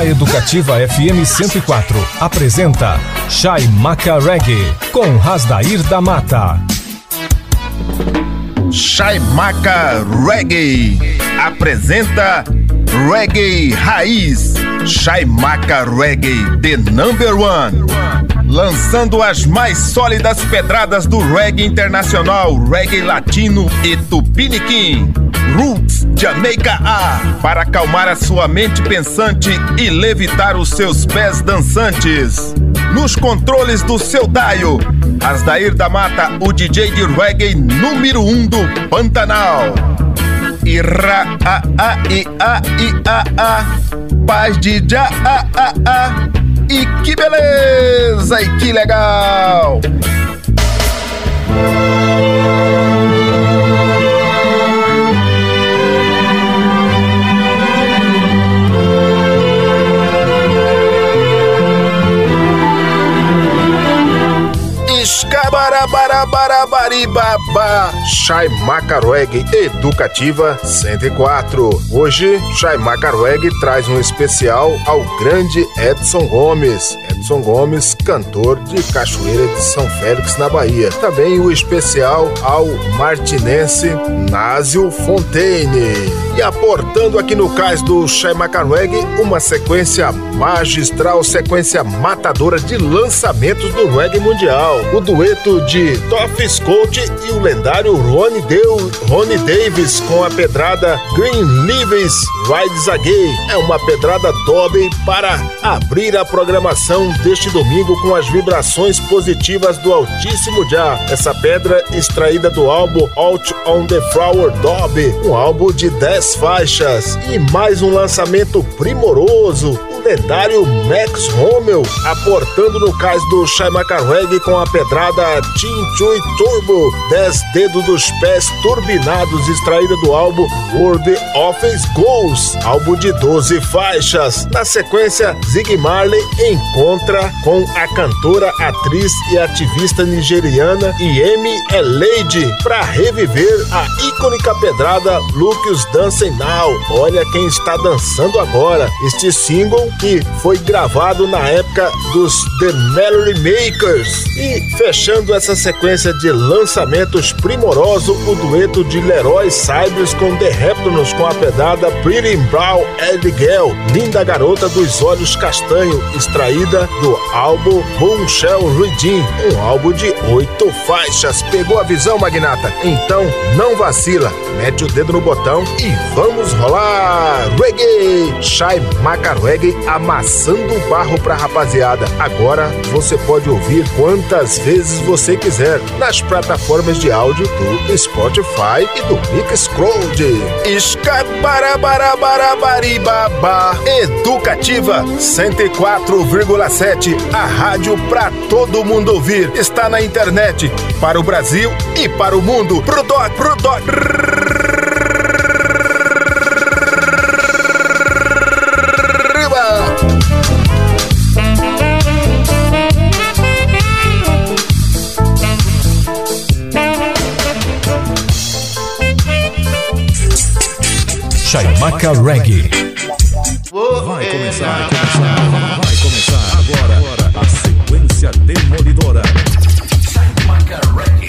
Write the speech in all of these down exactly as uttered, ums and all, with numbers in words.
A Educativa F M cento e quatro apresenta Chaimaca Reggae com Rasdair da Mata. Chaimaca Reggae apresenta Reggae Raiz. Chaimaca Reggae, the number one. Lançando as mais sólidas pedradas do reggae internacional, reggae latino e tupiniquim. Roots, Jamaica A, para acalmar a sua mente pensante e levitar os seus pés dançantes. Nos controles do seu Daio, Rasdair da Mata, o D J de reggae número um do Pantanal. Ira a a i a i a a, paz de já a a a. E que beleza, e que legal! Escabarabarabarabaribaba. Chaimaca Reggae Educativa cento e quatro. Hoje, Chaimaca Reggae traz um especial ao grande Edson Gomes. Edson Gomes, cantor de Cachoeira de São Félix, na Bahia. Também o especial ao martinense Násio Fontaine. E aportando aqui no cais do Chaimaca Reggae uma sequência magistral, sequência matadora de lançamentos do reggae mundial. O dueto de Toff Scott e o lendário Ronnie, Deu, Ronnie Davis com a pedrada Green Leaves Rides Again. É uma pedrada dobre para abrir a programação deste domingo com as vibrações positivas do altíssimo já. Essa pedra extraída do álbum Out on the Flower Dob, um álbum de dez faixas. E mais um lançamento primoroso, o lendário Max Rommel, aportando no cais do Chaimaca Reggae com a pedrada Chin-Chui Turbo, dez dedos dos pés turbinados, extraída do álbum World of Ghosts, álbum de doze faixas. Na sequência, Ziggy Marley encontra com a cantora, atriz e ativista nigeriana Yemi Alade para reviver a icônica pedrada Look Who's Dancing Now. Olha quem está dançando agora. Este single que foi gravado na época dos The Melody Makers. E fechando essa sequência de lançamentos primoroso, o dueto de Leroy Cyrus com The Reptones com a pedrada Pretty Brown Egg Girl, linda garota dos olhos castanho, extraída do álbum Boomshell Redeem, um álbum de oito faixas. Pegou a visão, magnata? Então não vacila, mete o dedo no botão e vamos rolar! Reggae! Chaimaca Reggae amassando o barro pra rapaziada. Agora você pode ouvir quantas vezes você quiser nas plataformas de áudio do Spotify e do Mixcloud. Escabarabarabarabaribaba. Educativa cento e quatro vírgula sete, a rádio pra todo mundo ouvir. Está na internet para o Brasil e para o mundo. Pro doc, pro doc. Chaimaca Reggae. Vai começar, vai começar, vai começar agora, agora a sequência demolidora. Chaimaca Reggae.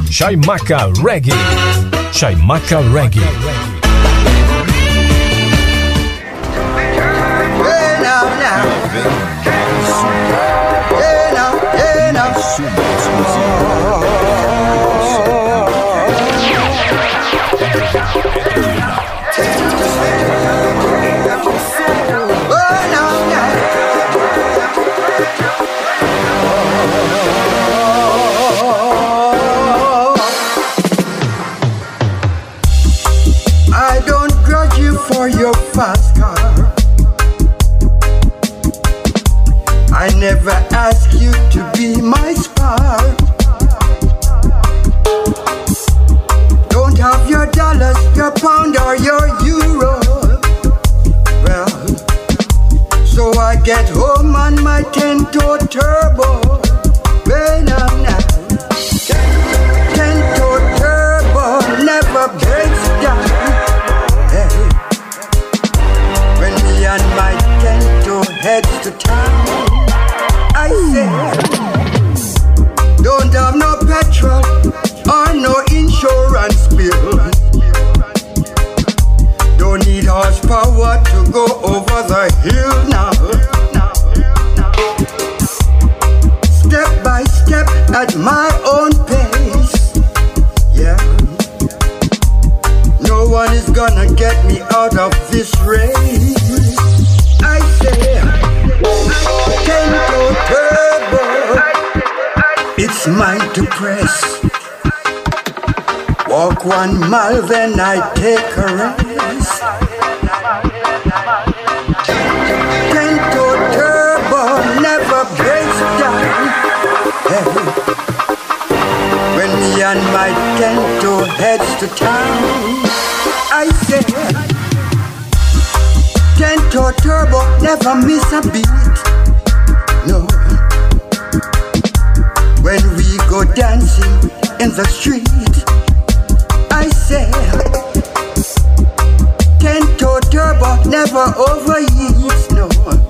Chaimaca Reggae. Chaimaca Reggae. Hey now, now. Hey now, hey now. Oh, now, now. I don't grudge you for your fast car. I never ask you to be my spar. Don't have your dollars, your pound or your euro. Well, so I get home on my ten-toe turbo. When I'm now ten-toe turbo never breaks down. Hey. When me and my ten-toe heads to town, I say, don't have no petrol or no insurance bill. Don't need horsepower to go over the hill now. Step by step at my own pace. Yeah. No one is gonna get me out of this race. I say, ten-toe turbo, it's mine to press. Walk one mile, then I take a rest. Ten-toe turbo never breaks down. Hey. When me and my ten-toe heads to town, I say, ten-toe turbo never miss a beat. No. When we go dancing in the street, I say, ten-toe turbo never overheats. No.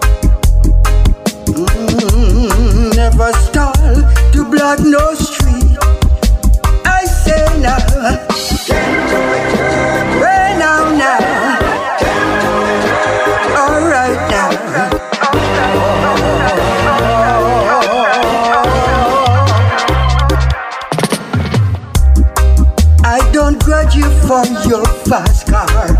Mm, never stall to block no street. I say now, way now now, all right now. I don't grudge you for your fast car.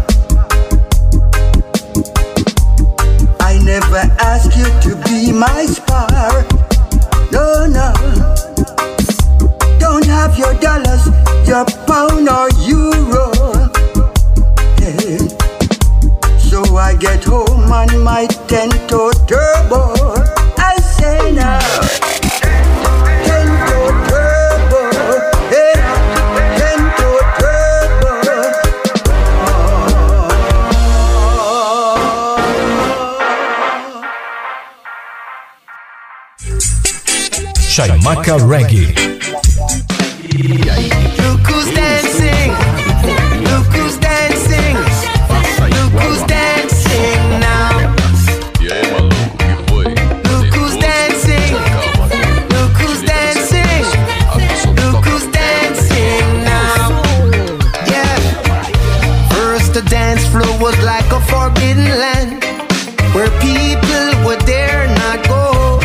I never ask you to be my spar. No, no. Don't have your dollars, your pound or euro. Hey. So I get home on my ten-toe turbo. I say now, ten-toe turbo. Hey, ten-toe turbo. Chaimaca Reggae. Look who's dancing, look who's dancing, look who's dancing now. Look who's dancing, look who's dancing, look who's dancing now. Yeah. First the dance floor was like a forbidden land, where people would dare not go.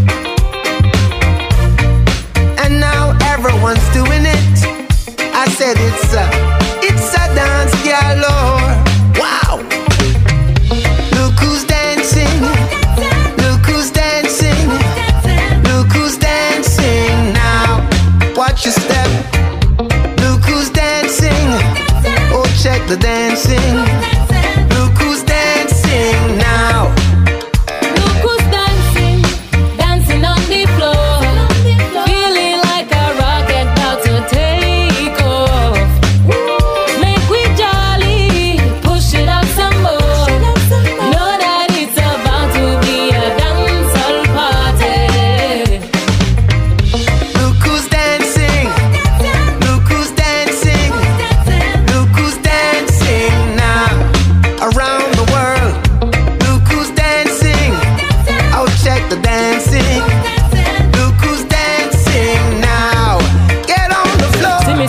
And now everyone's doing it. I said it's a, it's a dance galore. Wow. Look who's dancing, look who's dancing, look who's dancing now. Watch your step. Look who's dancing. Oh, check the dancing. Look who's dancing now. Look who's dancing, dancing on the floor, feeling like a rocket about to take off. Make we jolly, push it up some more. Know that it's about to be a dancehall party. Look who's dancing. Look who's dancing. Look who's dancing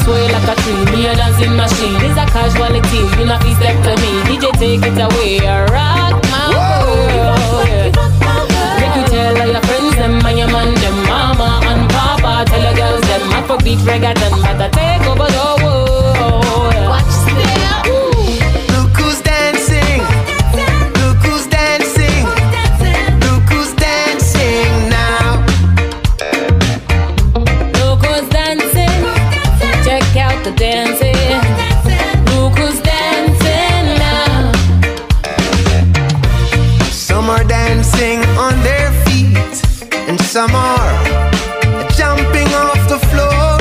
sway like a tree, me a dancing machine. It's a casualty, you not be step to me. D J take it away, rock my world. Make you tell all your friends them and your man them, mama and papa. Tell your girls them, Afrobeat reggaeton, but I take over the world. Watch step. Look who's dancing. Look who's dancing. Look who's dancing now. Look who's dancing. Check out the dancing. Look who's dancing now. Some are dancing on their feet, and some are jumping off the floor.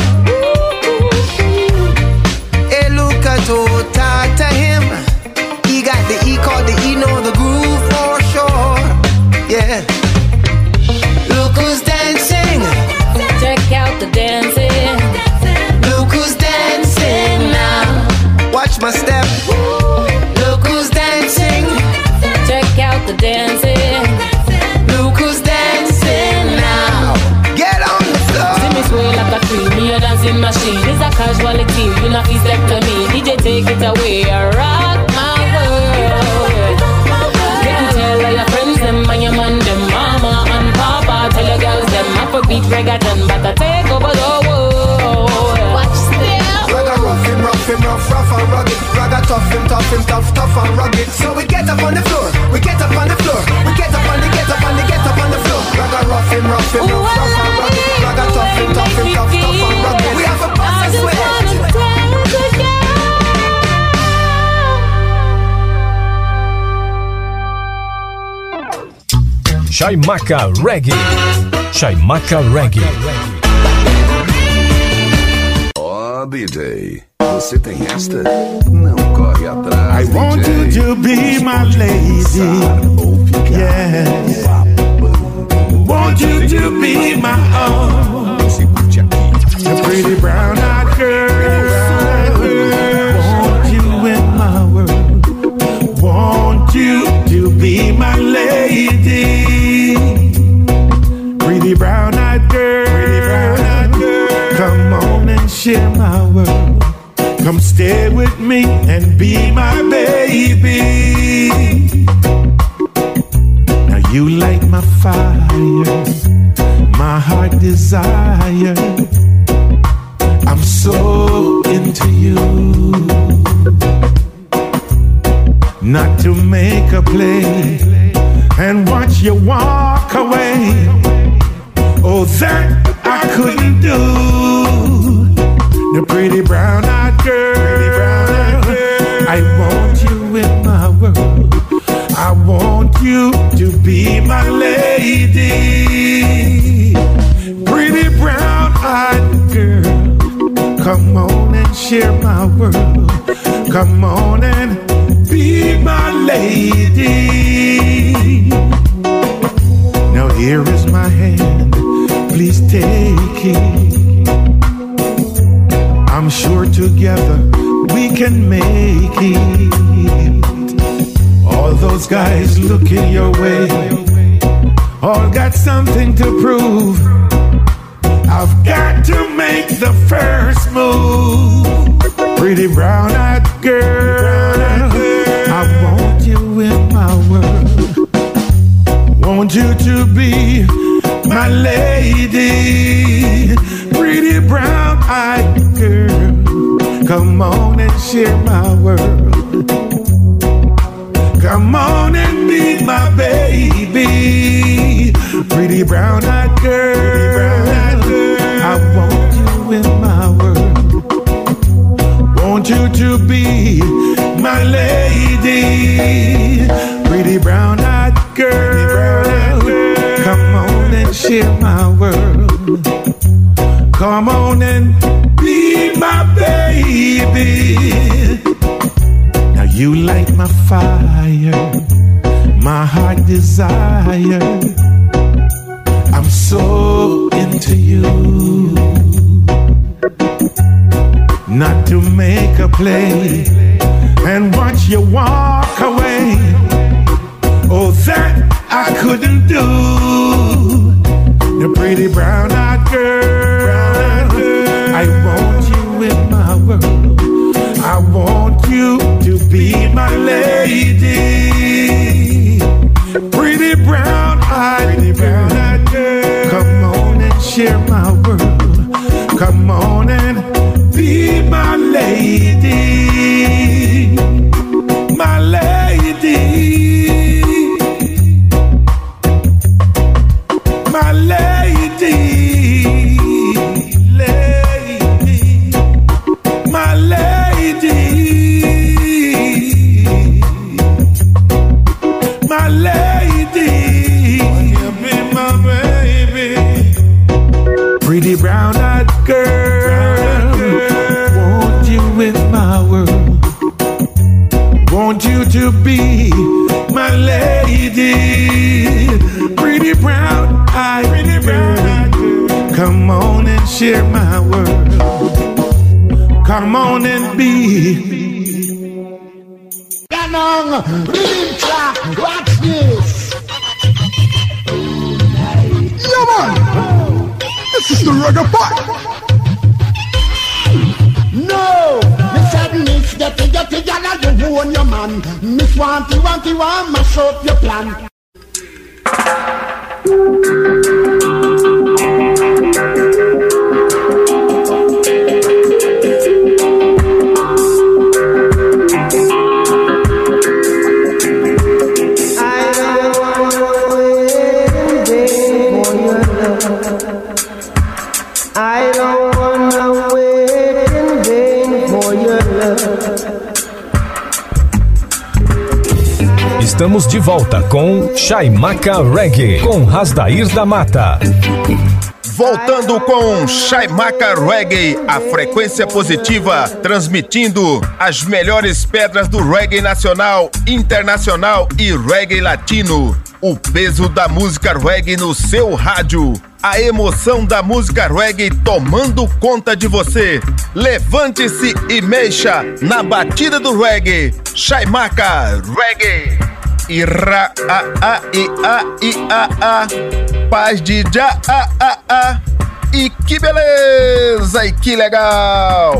Hey, look at Tota to him. He got the E called the E, know the groove for sure. Yeah. Look who's dancing. Check out the dancing. Look who's dancing now. Watch my step. Look who's dancing. Check out the dancing. Look who's dancing now. Get on the floor. See me sway like a tree, me a dancing machine. It's a casualty, you not be step to me. D J take it away, rock my world. Make you tell all your friends them and your man them, mama and papa. Tell your girls them, Afrobeat reggaeton, but I take over the world. Watch step. Ragga rough him, rough him, rough, rough and rugged. Ragga tough him, tough him, tough, tough and rugged. So we get up on the floor, we get up on the floor, we get up on the, get up on the, get up on the floor. Ragga rough him, rough him, rough, rough and rugged. Ragga tough him, tough him, tough, tough and rugged. We have a bust and sweat. Chaimaca Reggae. Chaimaca Reggae. Ó, oh, D J, você tem esta? Não corre atrás. I want D J. you to be my lady. Yes. Want you to be my own. A pretty brown-eyed girl. Want you in my world. Want you to be my lady. Pretty brown-eyed girl. Come on and share my world. Come stay with me and be my baby. Now you light my fire, my heart desire. I'm so into you. Not to make a play and watch you walk away. Oh, that I couldn't do. The pretty brown-eyed girl, I want you in my world. I want you to be my lady. Pretty brown-eyed girl, come on and share my world. Come on and be my lady. Now here is my hand, please take it. I'm sure together we can make it. All those guys looking your way, all got something to prove. I've got to make the first move. Pretty brown-eyed girl, I want you in my world. Want you to be my lady. Pretty brown-eyed girl, come on and share my world. Come on and be my baby. Pretty brown-eyed girl, I want you in my world. Want you to be my lady. Pretty brown-eyed girl, come on and share my world. Come on and be my baby. Now you light my fire, my heart desire. I'm so into you. Not to make a play and watch you walk away. Oh, that I couldn't do. The pretty brown-eyed girl, I want you in my to be my lady. Pretty brown eyed girl, come on and share my world. Come on and be. Ganong, rhythm track, watch this. Yeah, man, this is the reggae part. No, Miss Miss Getty Getty Gala, you own your man. Miss Wanty Wanty Want, mash up your plan. I don't wanna wait in vain for your love. Estamos de volta com Chaimaca Reggae, com Rasdair da Mata. Voltando com Chaimaca Reggae, a frequência positiva, transmitindo as melhores pedras do reggae nacional, internacional e reggae latino. O peso da música reggae no seu rádio. A emoção da música reggae tomando conta de você. Levante-se e mexa na batida do reggae. Chaimaca Reggae. Ira a a i a i a a. Paz de já a a a. E que beleza e que legal.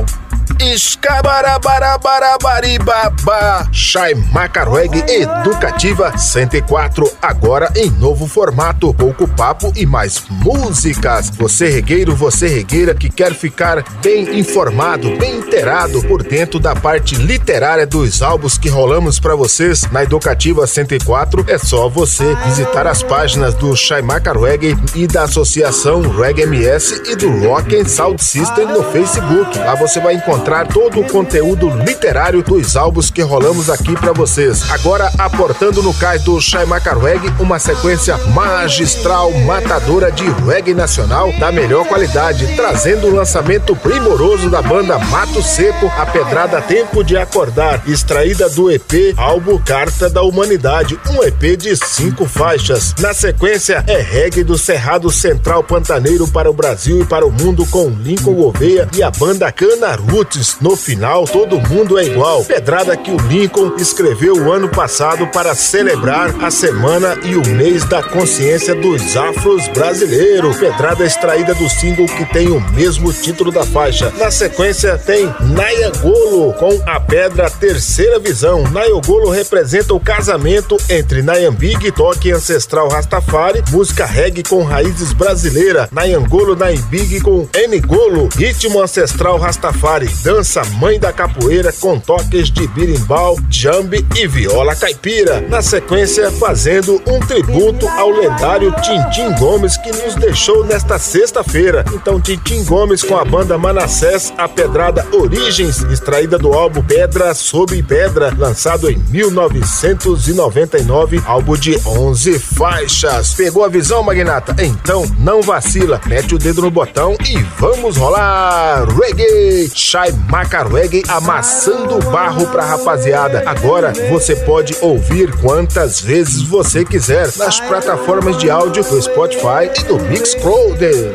Escabarabarabarabariba. Chaimaca Reggae Educativa cento e quatro, agora em novo formato, pouco papo e mais músicas. Você regueiro, você regueira que quer ficar bem informado, bem inteirado por dentro da parte literária dos álbuns que rolamos pra vocês na Educativa cento e quatro, é só você visitar as páginas do Chaimaca Reggae e da Associação Reggae M S e do Rock and Sound System no Facebook. Lá você vai encontrar todo o conteúdo literário dos álbuns que rolamos aqui pra vocês. Agora aportando no cais do Chaimaca Reggae uma sequência magistral, matadora de reggae nacional da melhor qualidade, trazendo o lançamento primoroso da banda Mato Seco, a pedrada Tempo de Acordar, extraída do E P álbum Carta da Humanidade, um E P de cinco faixas. Na sequência é reggae do Cerrado Central Pantaneiro para o Brasil e para o mundo com Lincoln Gouveia e a banda Cana Roots. No final, todo mundo é igual. Pedrada que o Lincoln escreveu o ano passado para celebrar a semana e o mês da consciência dos afros brasileiros. Pedrada extraída do single que tem o mesmo título da faixa. Na sequência tem Nayangolo com a pedra Terceira Visão. Nayangolo representa o casamento entre Nayambig, toque ancestral Rastafari, música reggae com raízes brasileiras. Nayangolo, Nayambig com Ngolo, ritmo ancestral Rastafari. Dança mãe da capoeira com toques de birimbau, jambe e viola caipira. Na sequência, fazendo um tributo ao lendário Tintim Gomes que nos deixou nesta sexta-feira. Então, Tintim Gomes com a banda Manassés, a pedrada Origens, extraída do álbum Pedra Sob Pedra, lançado em mil novecentos e noventa e nove, álbum de onze faixas. Pegou a visão, magnata? Então, não vacila, mete o dedo no botão e vamos rolar! Reggae! Chaimaca Reggae amassando barro pra rapaziada. Agora você pode ouvir quantas vezes você quiser nas plataformas de áudio do Spotify e do Mixcloud.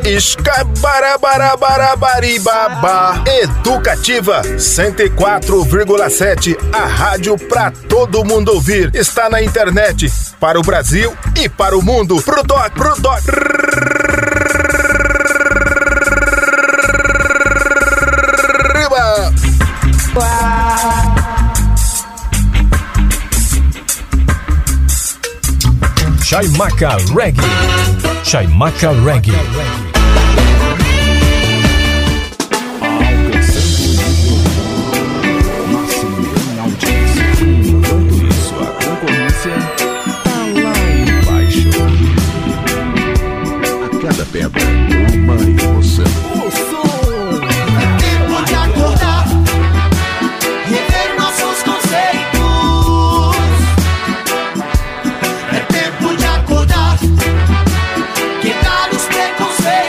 Escabarabarabarabariba. Educativa cento e quatro vírgula sete, a rádio pra todo mundo ouvir. Está na internet para o Brasil e para o mundo. Pro doc, pro doc. Chaimaca Reggae. Chaimaca Reggae. Cada pedra, uma emoção. O som é tempo de acordar, rever nossos conceitos. É tempo de acordar, quebrar os preconceitos.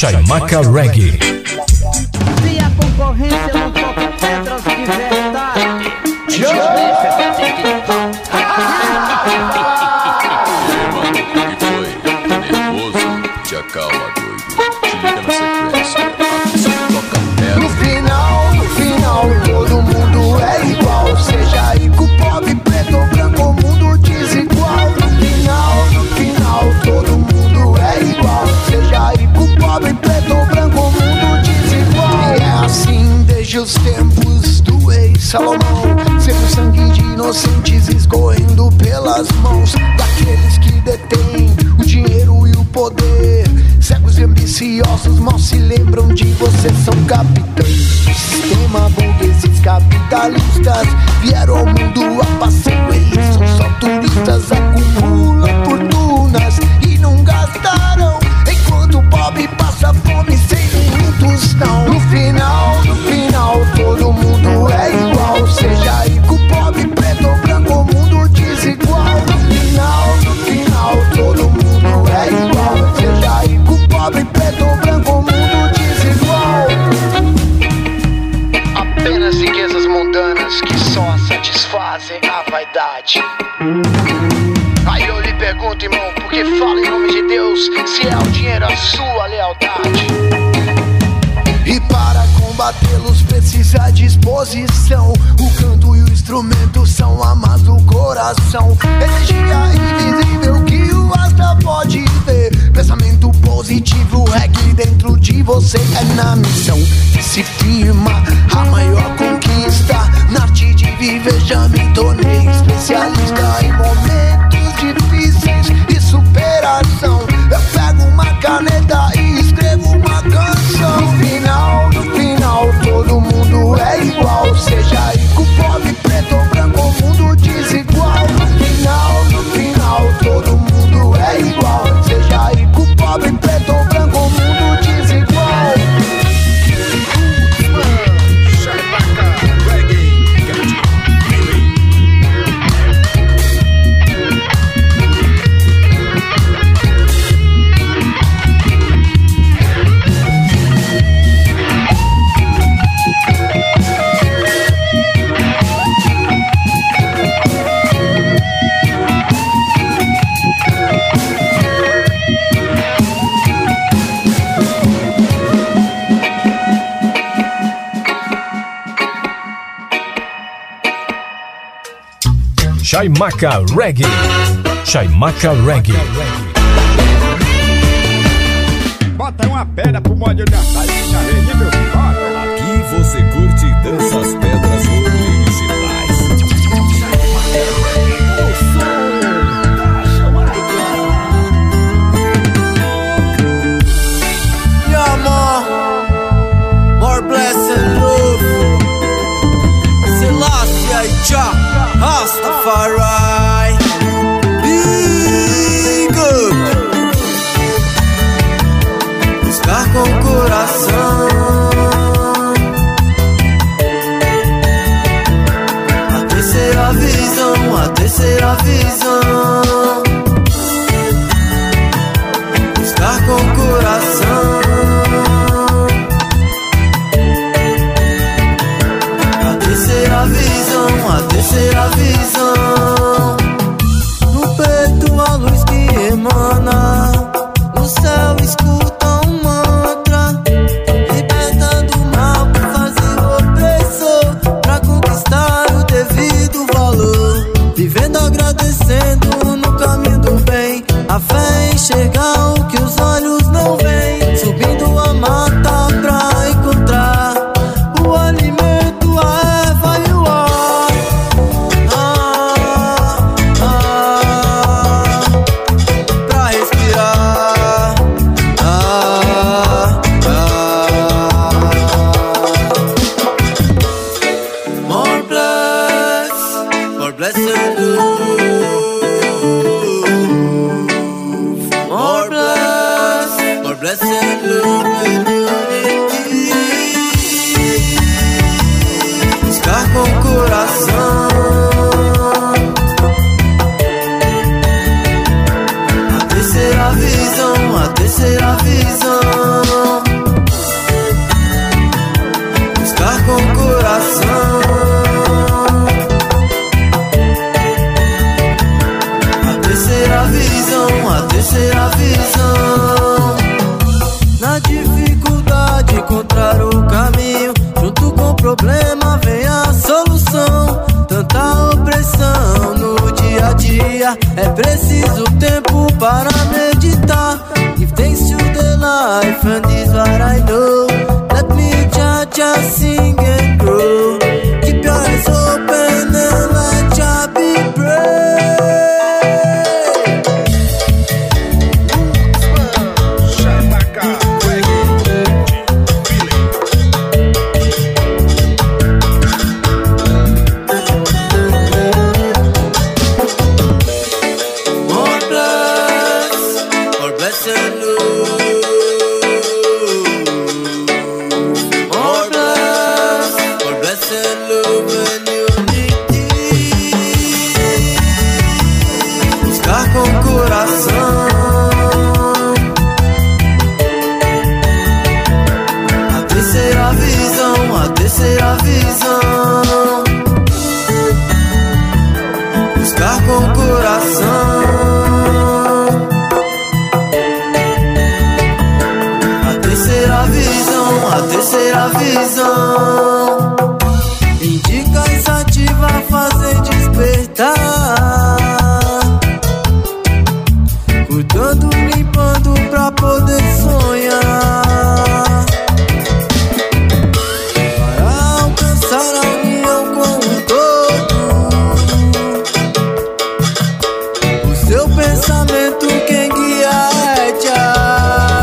Chaimaca Reggae. Se a concorrência não toca pedras de verdade, te acalma, doido. Te liga na sequência. Toca pedra. No final, no final, todo mundo é igual. Seja rico, pobre, preto ou branco, o mundo desigual. No final, no final, todo mundo é igual. Seja rico, pobre, preto ou branco, o mundo desigual. E é assim desde os tempos do rei Salomão, sempre o sangue de inocentes escorrendo pelas mãos daqueles que detêm o dinheiro e o poder. Cegos e ambiciosos mal se lembram de você, são capitães do sistema. Burgueses capitalistas vieram ao mundo a passeio, eles são só turistas, acumulam fortunas e não gastaram, enquanto o pobre passa fome sem nenhum tostão. No final, no final, todo mundo é igual. Seja rico, pobre, preto ou branco, o mundo desigual. No final, no final, todo mundo é igual. Seja rico, pobre, preto ou branco, o mundo desigual. Apenas riquezas mundanas que só satisfazem a vaidade. Aí eu lhe pergunto, irmão, por que fala em nome de Deus, se é o dinheiro a sua lealdade? E para combatê-los precisa disposição. O canto e o instrumento são amas do coração. Energia invisível que o asta pode ver. Pensamento positivo, reggae dentro de você. É na missão que se firma a maior conquista. Na arte de viver já me tornei especialista em momentos difíceis e superação. Eu pego uma caneta e escrevo uma canção. No final, no final, todo mundo é igual. Seja rico, pobre, preto ou branco, o mundo desigual. No final, no final, todo mundo é igual. Seja rico, pobre, preto ou branco, o mundo desigual. Chaimaca Reggae. Chaimaca Reggae. Chaimaca Reggae. Bota uma pedra pro molho da saída, meu filho. Aqui você curte e dança as pedras originais. Yeah, more, more blessed love. Selassie, Jah, Rastafari. Big up. Buscar com o coração a terceira visão, a terceira visão. Buscar com o coração a terceira visão, a terceira visão. No peito a luz que emana, no céu escuta um mantra, liberta do mal que faz o opressor, pra conquistar o devido valor. Vivendo agradecendo no caminho do bem, a fé em enxergar o que os olhos não veem. Subindo a mata pra encontrar o alimento, a erva e o ar. Ah, ah, pra respirar. terceira visão. Na dificuldade encontrar o caminho, junto com o problema vem a solução. Tanta opressão no dia a dia, é preciso tempo para meditar. Give thanks to the life and this what I know. Let me just, just sing and grow. Keep your eyes open and let Jah be brave. Terceira visão, indicação ativa, fazer despertar, cuidando, limpando pra poder sonhar, para alcançar a união com o todo. O seu pensamento quem guia é Jah.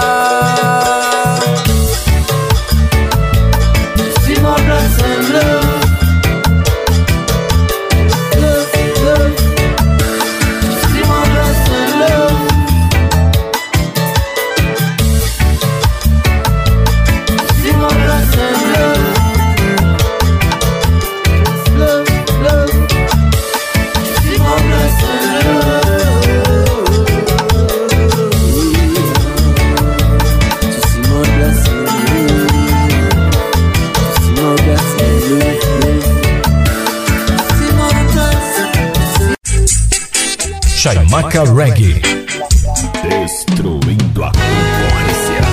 Chaimaca Reggae, destruindo a concorrência.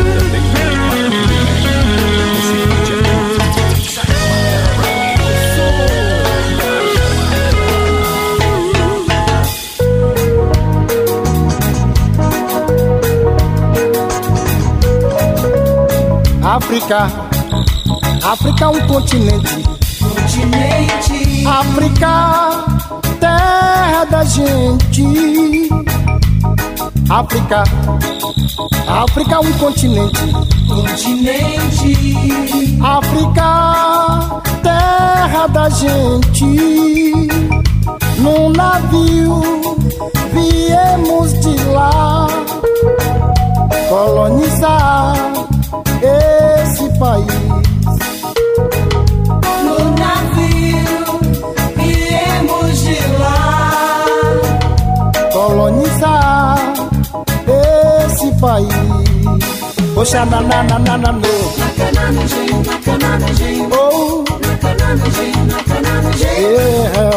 África, África é um continente. Continente. África, terra da gente. África, África é um continente. Continente. África, terra da gente. Num navio viemos de lá colonizar esse país. No navio viemos de lá colonizar esse país. Oxa na na na na na no. Oh. Yeah.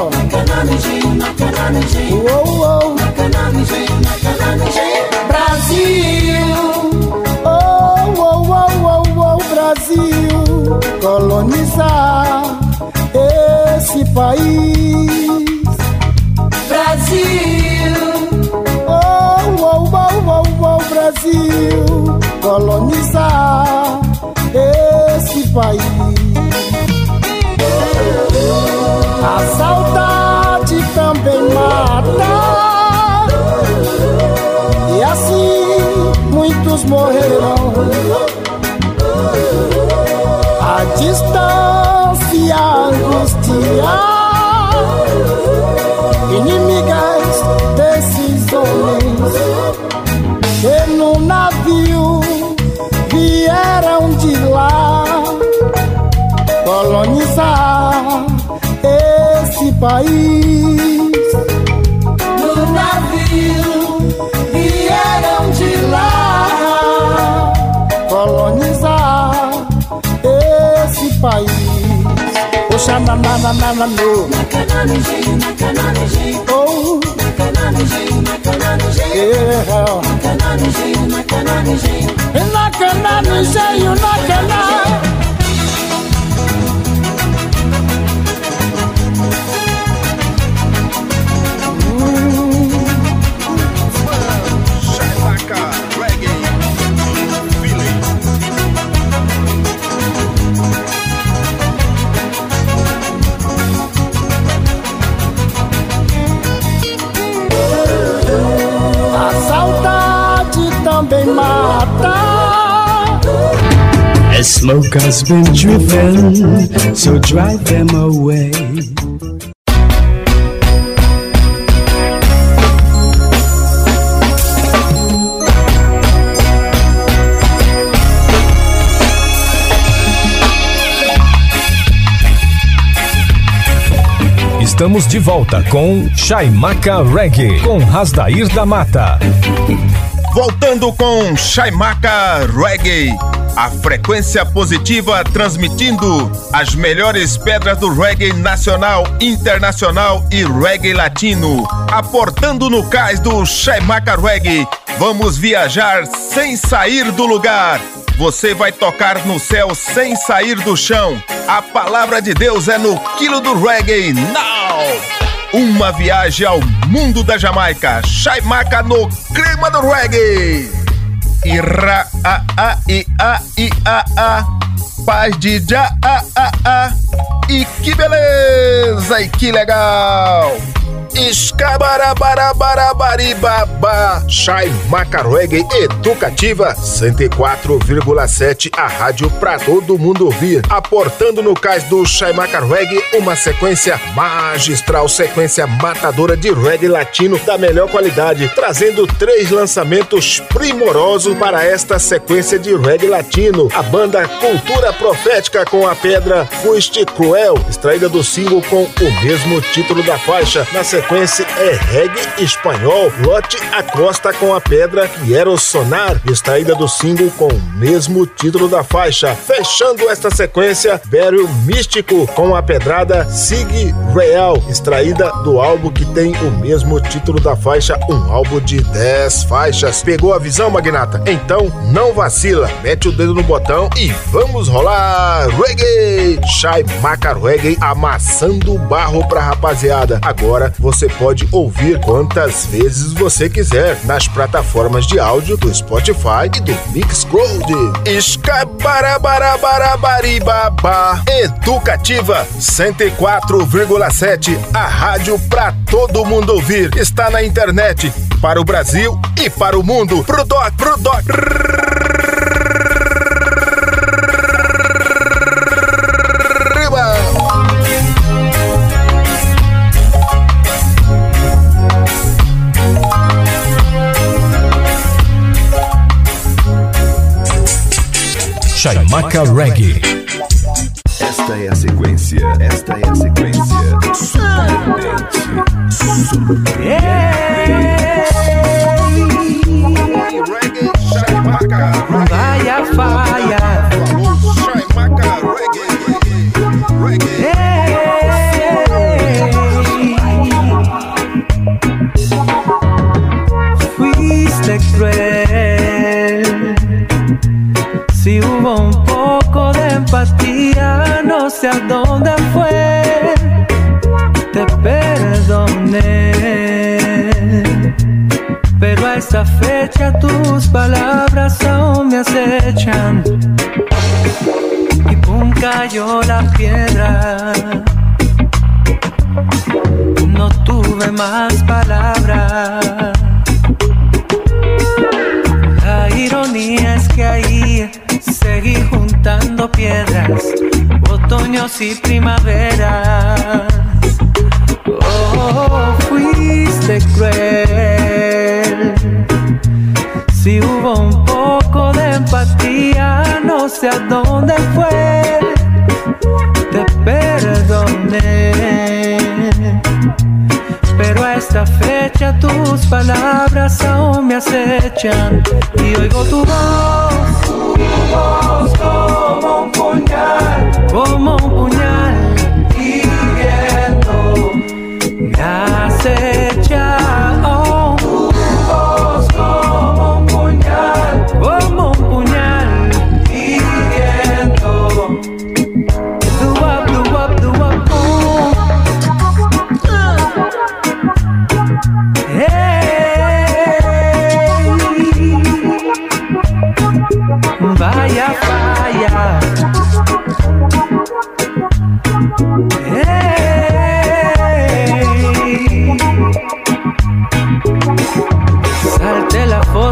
Oh oh. Brasil. Oh oh oh oh oh Brasil. Colonizar esse país. Brasil. Oh oh oh oh oh Brasil. Colonizar esse país. A saudade também mata, e assim muitos morrerão. A distância angustia inimigas desses homens que no navio vieram de lá colonizar esse país. No navio vieram de lá colonizar esse país. Oxa na na na na na no. Oh. Yeah. yeah. Nacananijeio, nacananijeio. Nacananijeio, nacananijeio. Também mata. As smoke has been driven, so drive them away. Estamos de volta com Chaimaca Reggae, com Rasdair da Mata. Voltando com Chaimaca Reggae, a frequência positiva transmitindo as melhores pedras do reggae nacional, internacional e reggae latino. Aportando no cais do Chaimaca Reggae, vamos viajar sem sair do lugar. Você vai tocar no céu sem sair do chão. A palavra de Deus é no quilo do reggae now. Uma viagem ao mundo da Jamaica. Chaimaca no clima do reggae. Ira a a i a i a a. Paz de já a a a. E que beleza e que legal. Escabarabarabarabari-babá. Chaimaca Reggae Educativa cento e quatro vírgula sete, a rádio pra todo mundo ouvir. Aportando no cais do Chaimaca Reggae uma sequência magistral, sequência matadora de reggae latino da melhor qualidade, trazendo três lançamentos primorosos para esta sequência de reggae latino. A banda Cultura Profética com a pedra Fuiste Cruel, extraída do single com o mesmo título da faixa. Na sequência é reggae espanhol, Lote Acosta com a pedra Quiero Sonar, extraída do single com o mesmo título da faixa. Fechando esta sequência, Burial Místico com a pedrada Sig Real, extraída do álbum que tem o mesmo título da faixa, um álbum de dez faixas. Pegou a visão, magnata? Então não vacila, mete o dedo no botão e vamos rolar reggae! Chaimaca Reggae amassando barro pra rapaziada. Agora você pode ouvir quantas vezes você quiser nas plataformas de áudio do Spotify e do Mixcloud. Escabarabarabarabari-babá. Educativa cento e quatro vírgula sete, a rádio pra todo mundo ouvir. Está na internet para o Brasil e para o mundo. Pro doc, pro doc. Chaimaca Reggae. Esta é a sequência, esta é a sequência surpreendente. Reggae Chaimaca Vai a faia. Chaimaca Reggae. Fuiste cruel. Si hubo un poco de empatía, no sé a dónde fue. Te perdoné, pero a esta fecha tus palabras aún me acechan. Y pum, cayó la piedra. No tuve más palabras. La ironía es que ahí seguí juntando piedras, otoños y primaveras. Oh, fuiste cruel. Si hubo un poco de empatía, no sé a dónde fue. Te perdoné, pero a esta fecha tus palabras aún me acechan. Y oigo tu voz, tu voz como un puñal, como un puñal, hiriendo, me acecha. Oh, tu voz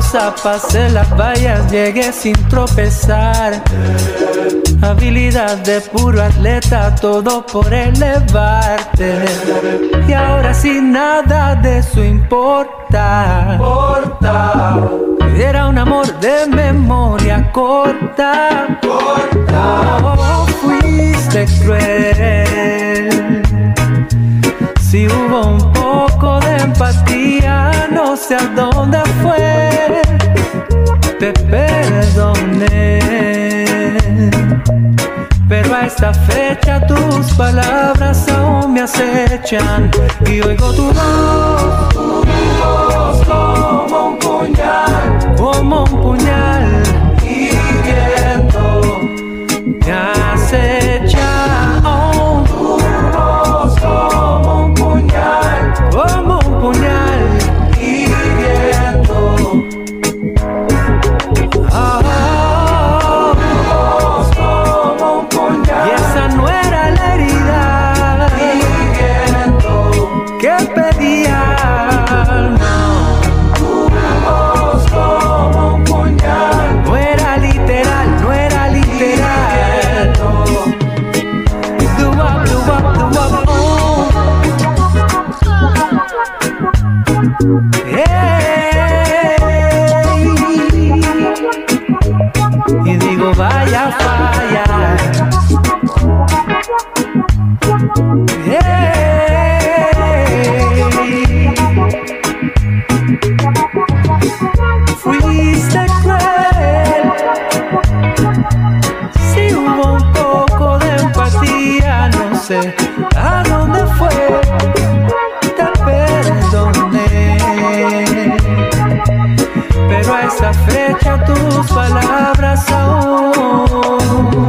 rosa, pasé las vallas, llegué sin tropezar. Habilidad de puro atleta, todo por elevarte. Y ahora sin nada de eso importa. Era un amor de memoria corta. Oh, fuiste cruel. Si hubo un poco de empatía, no sé a dónde fue. Te perdoné, pero a esta fecha tus palabras aún me acechan. Y oigo tu voz, tu voz como un puñal, como un puñal hiriendo, me acecha. Oh, tu voz como un puñal, como un puñal hiriendo. Oh, y esa no era la herida que pedía, no. Tu voz como un puñal, no era literal, no era literal. Do up, do up, do up, oh. Hey. Y digo vaya falla. Fuiste cruel. Si hubo un poco de empatía, no sé a dónde fue. Te perdoné, pero a esta fecha tus palabras aún.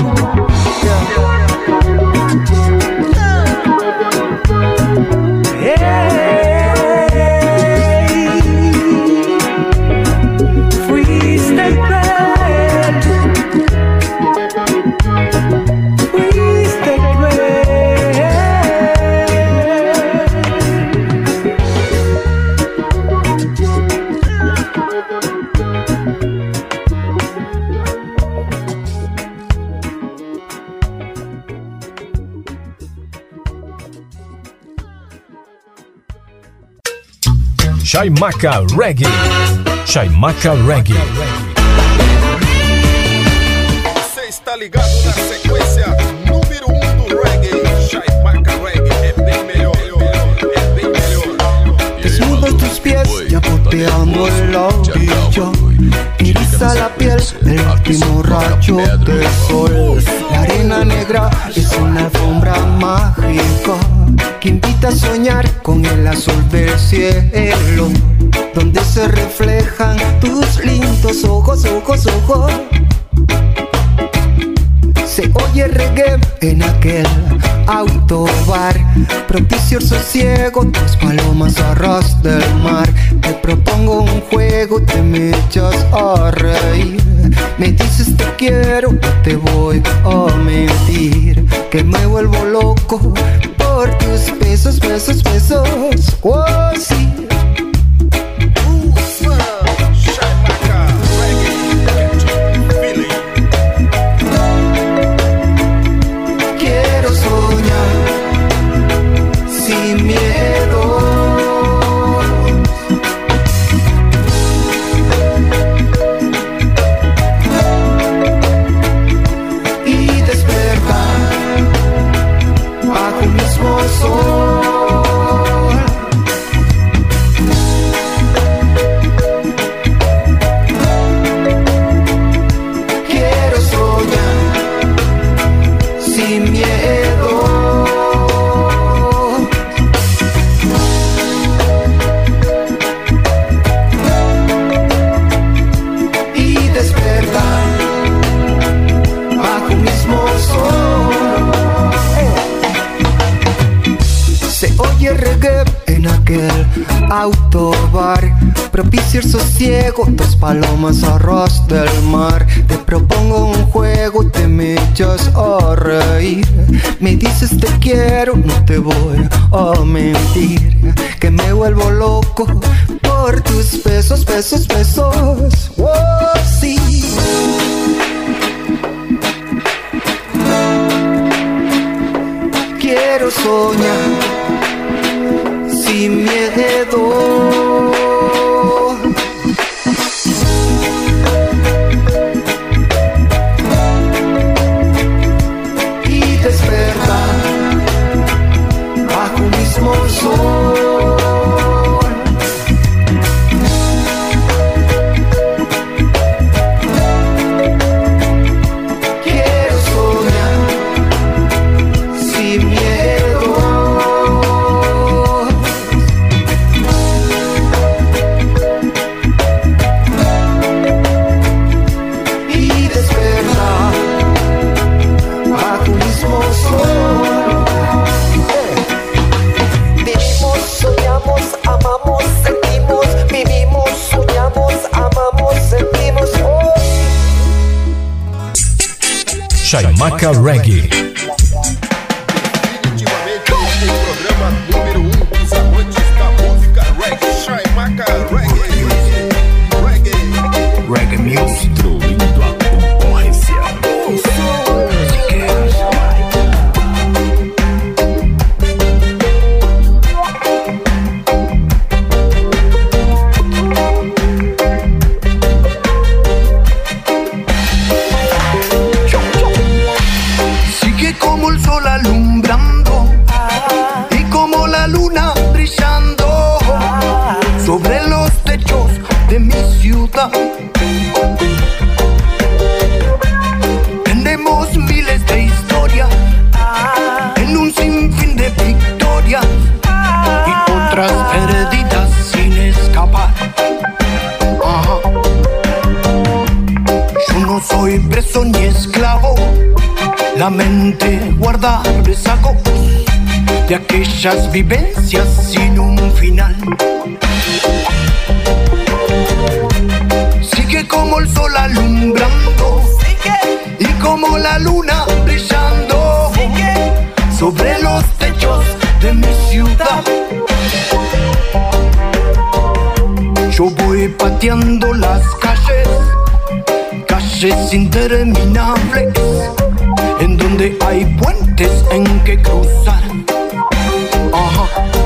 Chaimaca Reggae. Chaimaca Reggae. Você está ligado na sequência número um do reggae. Chaimaca Reggae é bem melhor, é bem melhor. Desnudos tus pies, ya boteando el orillo. Eriza la piel del último rayo del sol. La arena negra es una alfombra mágica que invita a soñar con el azul del cielo, donde se reflejan tus lindos ojos, ojos, ojos. Se oye reggae en aquel autobar, propicio el sosiego, tus palomas a ras del mar. Te propongo un juego, te me echas a reír. Me dices te quiero, no te voy a mentir, que me vuelvo loco por tus besos, besos, besos. Oh, sí. Quiero soñar sin miedo. Y despertar bajo un mismo sol. Quiero soñar sin miedo. Y despertar bajo un mismo sol. Se oye reggae en aquel autobar, propicia el sosiego, dos palomas a ras del mar. Te propongo un juego, te me echas a reír. Me dices te quiero, no te voy a mentir, que me vuelvo loco por por tus besos, besos, besos. Oh, sí. Quiero soñar sin miedo. Y despertar bajo un mismo sol. Chaimaca Reggae. Definitivamente o programa número um dos amantes da música reggae. Chaimaca Reggae. Reggae. Reggae Music. Destruindo a concorrência. Tenemos miles de historias en un sinfín de victorias y otras perdidas sin escapar. Ajá. Yo no soy preso ni esclavo, la mente guarda rezagos de aquellas vivencias sin un final. Sigue como el sol alumbrando, sigue, y como la luna brillando, sigue, sobre los techos de mi ciudad. Yo voy pateando las calles, calles interminables, en donde hay puentes en que cruzar. Ajá.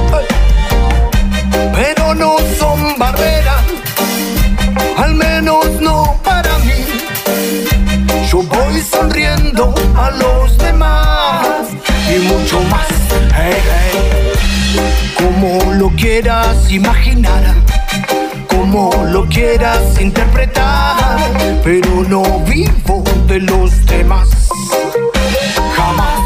Pero no son barreras, al menos no para mí. Yo voy sonriendo a los demás y mucho más. Hey, hey. Como lo quieras imaginar, como lo quieras interpretar, pero no vivo de los demás. Jamás.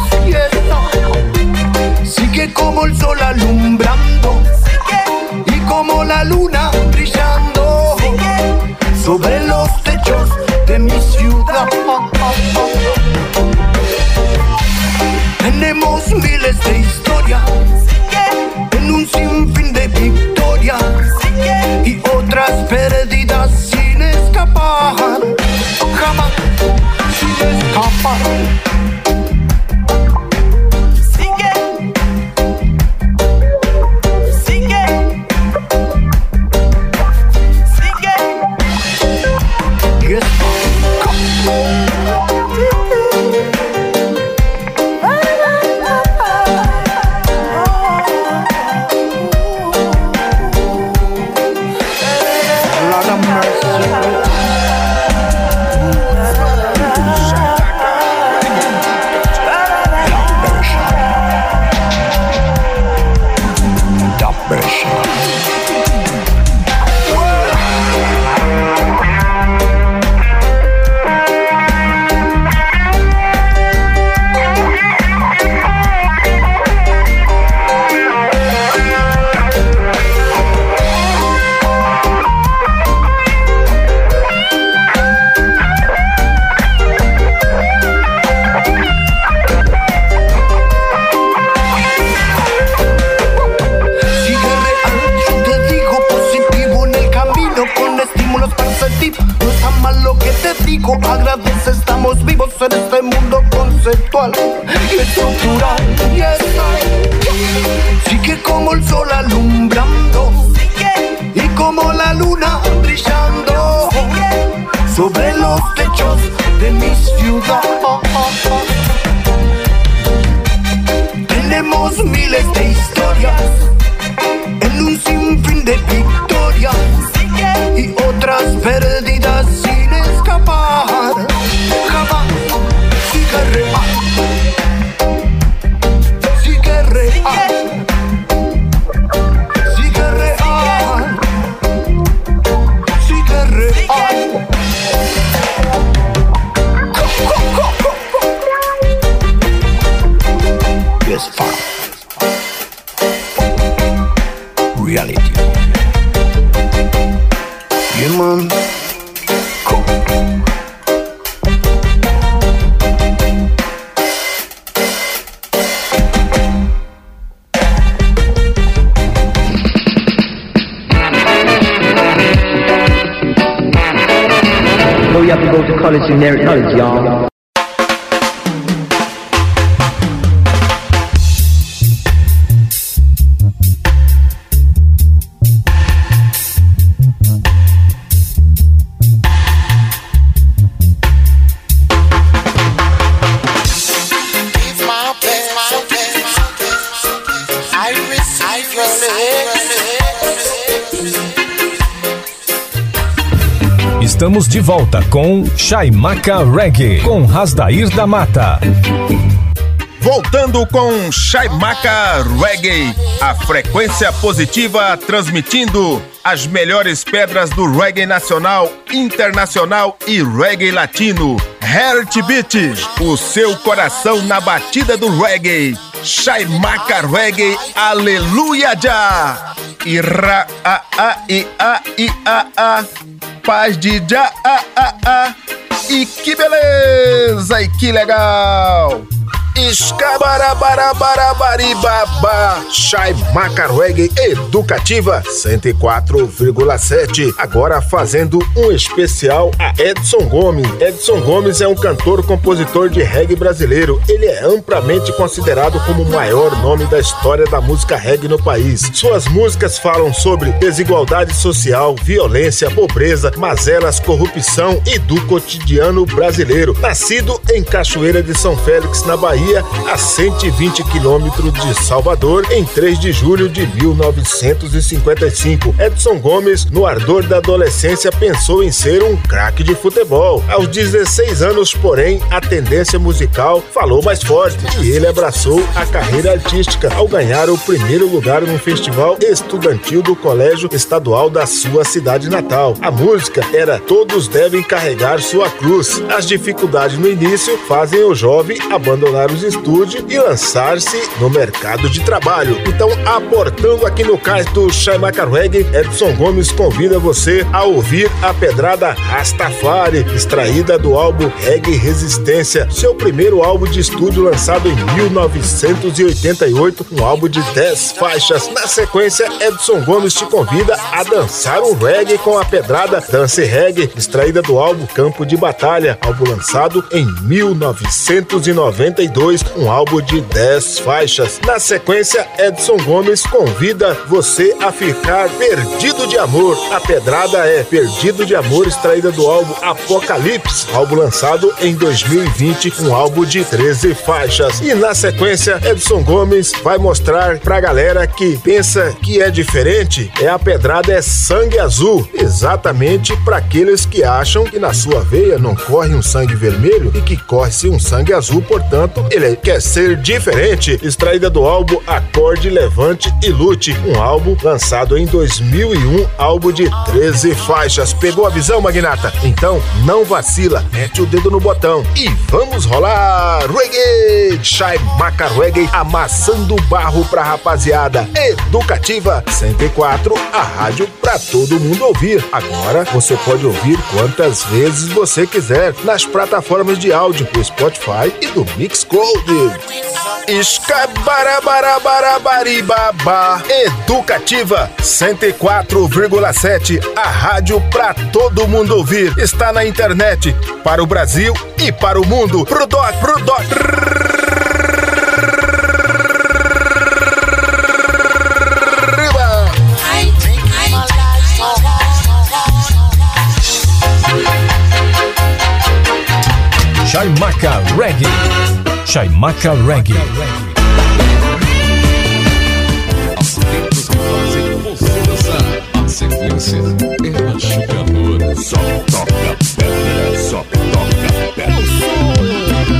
Sigue como el sol alumbrando, sigue, y como la luna brillando, sigue, sobre los techos de mi ciudad. Tenemos miles de historias, sigue, en un sinfín de victorias, sigue, y otras perdidas sin escapar. Jamás sin escapar. Agradece, estamos vivos en este mundo conceptual y estructural. Yes. Sigue como el sol alumbrando, sigue, y como luna brillando sobre los techos de mi ciudad. Tenemos miles de historias en un sinfín de victorias y otras perdidas sin escapar. Jamás sigue real, sigue real, sigue real, sigue real. Yes, far. Reality. Yeah, man. Cool. Oh, you have to go to college in their knowledge, y'all. Estamos de volta com Chaimaca Reggae, com Rasdair da Mata. Voltando com Chaimaca Reggae, a frequência positiva transmitindo as melhores pedras do reggae nacional, internacional e reggae latino. Heartbeat, o seu coração na batida do reggae. Chaimaca Reggae, aleluia já! Ira a a i a i a a, paz de já a a a. E que beleza, e que legal! Escabarabarabarabariba, Chaimaca Reggae Educativa cento e quatro vírgula sete. Agora fazendo um especial a Edson Gomes. Edson Gomes é um cantor, compositor de reggae brasileiro. Ele é amplamente considerado como o maior nome da história da música reggae no país. Suas músicas falam sobre desigualdade social, violência, pobreza, mazelas, corrupção e do cotidiano brasileiro. Nascido em Cachoeira de São Félix, na Bahia, a cento e vinte quilômetros de Salvador, em três de julho de mil novecentos e cinquenta e cinco. Edson Gomes, no ardor da adolescência, pensou em ser um craque de futebol. Aos dezesseis anos, porém, a tendência musical falou mais forte e ele abraçou a carreira artística ao ganhar o primeiro lugar no festival estudantil do Colégio Estadual da sua cidade natal. A música era Todos Devem Carregar Sua Cruz. As dificuldades no início fazem o jovem abandonar os estúdios e lançar-se no mercado de trabalho. Então, aportando aqui no cais do Chaimaca Reggae, Edson Gomes convida você a ouvir a pedrada Rastafari, extraída do álbum Reggae Resistência, seu primeiro álbum de estúdio lançado em mil novecentos e oitenta e oito, um álbum de dez faixas. Na sequência, Edson Gomes te convida a dançar um reggae com a pedrada Dance Reggae, extraída do álbum Campo de Batalha, álbum lançado em mil novecentos e noventa e dois, um álbum de dez faixas. Na sequência, Edson Gomes convida você a ficar perdido de amor. A pedrada é Perdido de Amor, extraída do álbum Apocalipse, álbum lançado em dois mil e vinte, um álbum de treze faixas. E na sequência, Edson Gomes vai mostrar pra galera que pensa que é diferente, é a pedrada é Sangue Azul, exatamente para aqueles que acham que na sua veia não corre um sangue vermelho e que corre-se um sangue azul, portanto, ele quer ser diferente, extraída do álbum Acorde, Levante e Lute, um álbum lançado em dois mil e um, álbum de treze faixas. Pegou a visão, magnata? Então não vacila, mete o dedo no botão e vamos rolar reggae! Chaimaca Reggae, amassando barro pra rapaziada. Educativa cento e quatro, a rádio pra todo mundo ouvir. Agora você pode ouvir quantas vezes você quiser nas plataformas de áudio do Spotify e do Mixcloud. Escabarabarabarabariba, Educativa cento e quatro vírgula sete, a rádio pra todo mundo ouvir. Está na internet para o Brasil e para o mundo. Pro doc, pro doc. Chaimaca Reggae. Chaimaca Reggae. As letras que fazem você dançar. A sequência é machucadora. Só toca pedra, só toca pedra.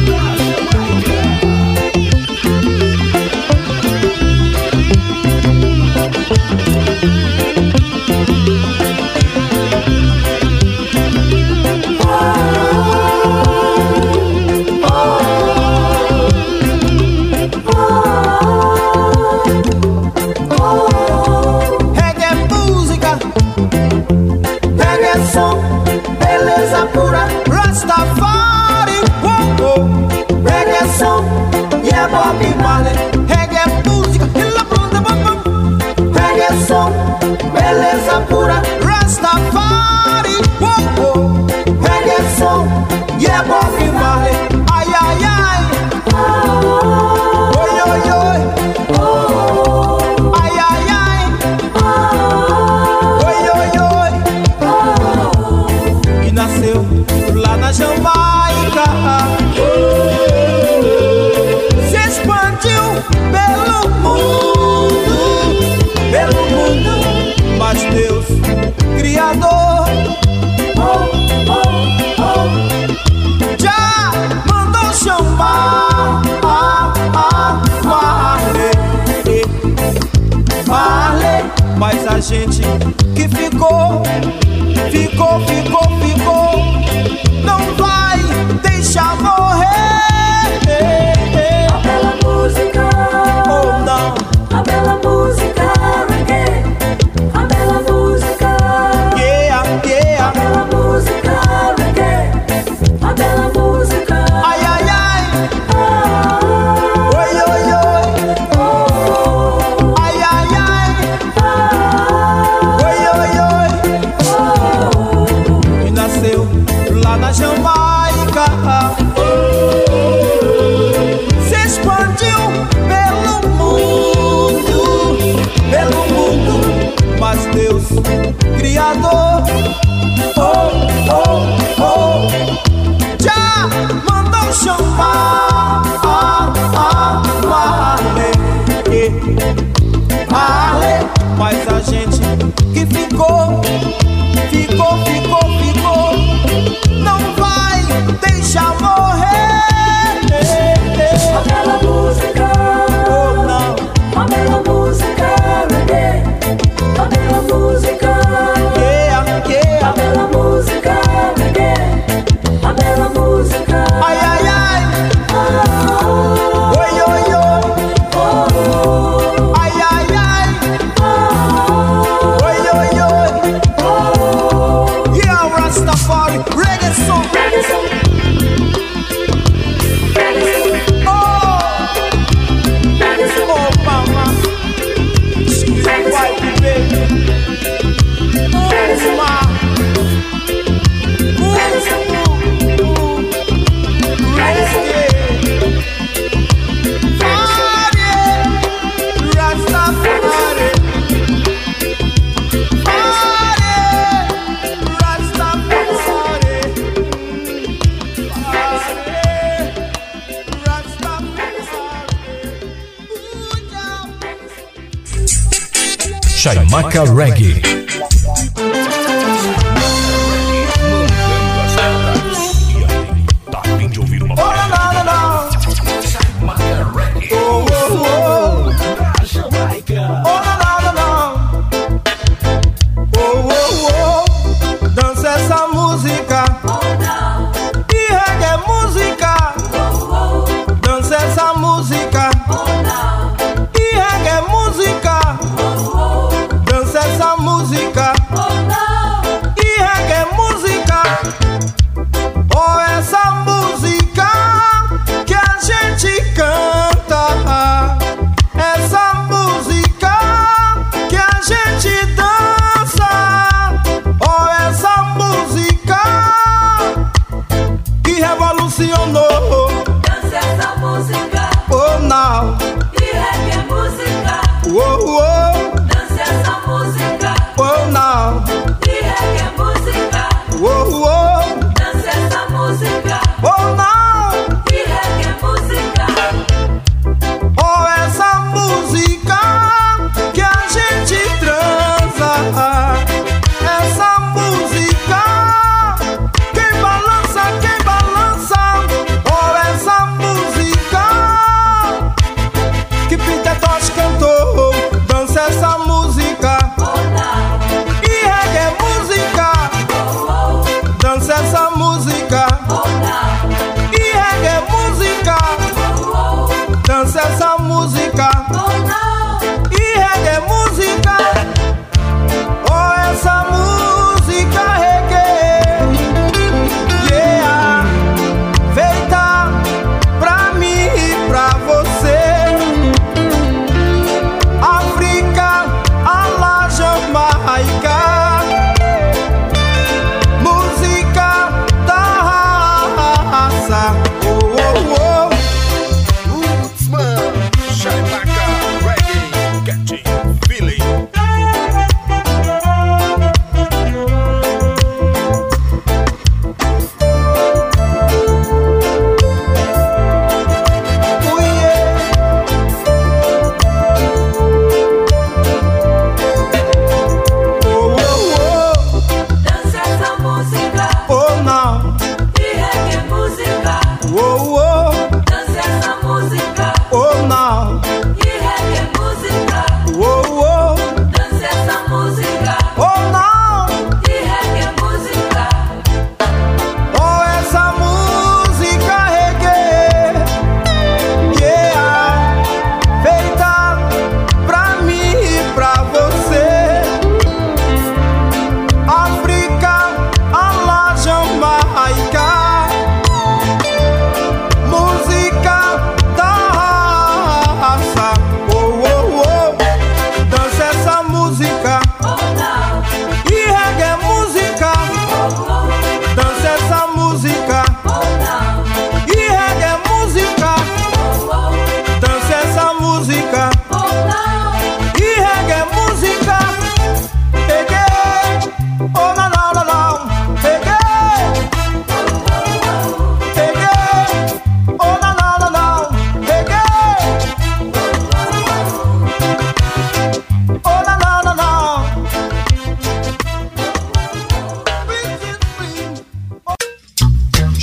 Rastafari, oh, oh. Reggae song, yeah, Bobby Marley. Reggae música, ela bunda, bum, reggae song, beleza pura. Rastafari, oh, oh. Reggae song, yeah, Bobby Marley. Ai, ai, ai, oi, oi, oi, ai, ai, ai, oi, oi, oi. E nasceu lá na Jamaica, se expandiu pelo mundo, pelo mundo, mas Deus, Criador, oh, oh, oh, já mandou chamar ah, ah, Marley, Marley, mas a gente que ficou, ficou, ficou, ficou, não vai deixar morrer. A bela música, oh não, a bela música reggae, a bela música, yeah, yeah, a bela música reggae, a bela música, ai, ai, ai, ah, oi, oi, oi, oh, ai, ai, ai, ah, oi, oi, oi, oh, e nasceu lá na Jamaica, se expandiu pelo mundo, pelo mundo, mas Deus, Criador, oh, oh, oh, já mandou chamar ah, ah, Marley, Marley, mas a gente que ficou, ficou, ficou, ficou, não vai deixar morrer. A bela música, oh não, a bela música reggae, a bela música, yeah, yeah, a bela música reggae, a bela música, ai, ai, ai, ah, oi, oi, oi, oh, ai, ai, ai, ah, oi, oi, oi, oh, yeah, Rastafari, reggae song, reggae song, reggae song, oh, reggae song, oh, mama, scream white baby, oh, ma, reggae song, reggae, party, Rastafari, party, Rastafari. Chaimaca Reggae. Tá a fim de ouvir uma Oh, não, não, não. Chaimaca Reggae. Oh, oh, oh. Jamaica. Oh, não, não, não. Oh, oh, oh. Dança essa música. E reggae música. Dança essa música. E reggae música. Dança essa música.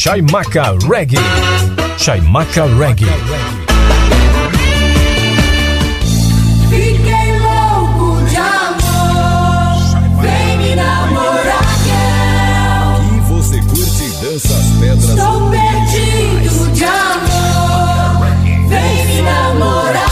Chaimaca Reggae. Chaimaca Reggae. Fiquei louco de amor, vem me namorar, girl. E você curte e dança as pedras. Estou perdido de amor, vem me namorar,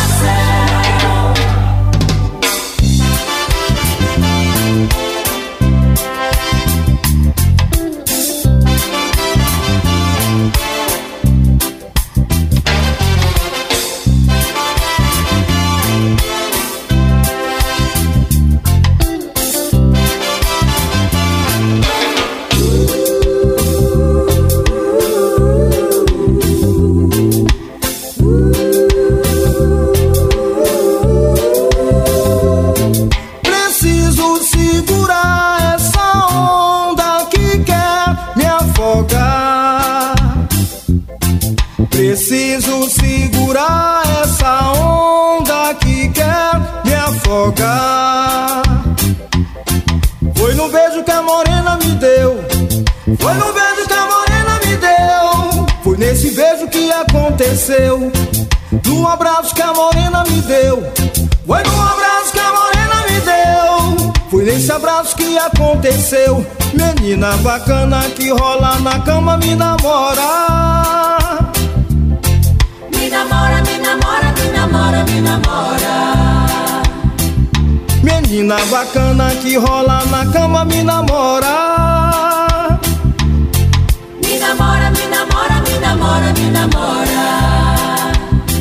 preciso segurar essa onda que quer me afogar. Foi no beijo que a morena me deu, foi no beijo que a morena me deu, foi nesse beijo que aconteceu, no abraço que a morena me deu, foi no abraço que a morena me deu, foi nesse abraço que aconteceu. Menina bacana que rola na cama me namora. Me namora, me namora, me namora, me namora. Menina bacana que rola na cama me namora. Me namora, me namora, me namora, me namora.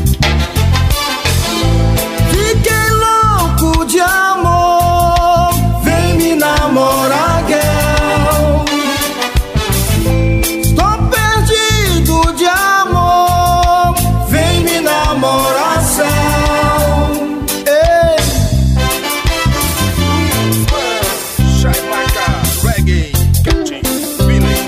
Fiquei louco de amor, vem me namorar, girl. Estou perdido de amor, vem me namorar, céu. Ei. Chaimaca Reggae, catching feeling.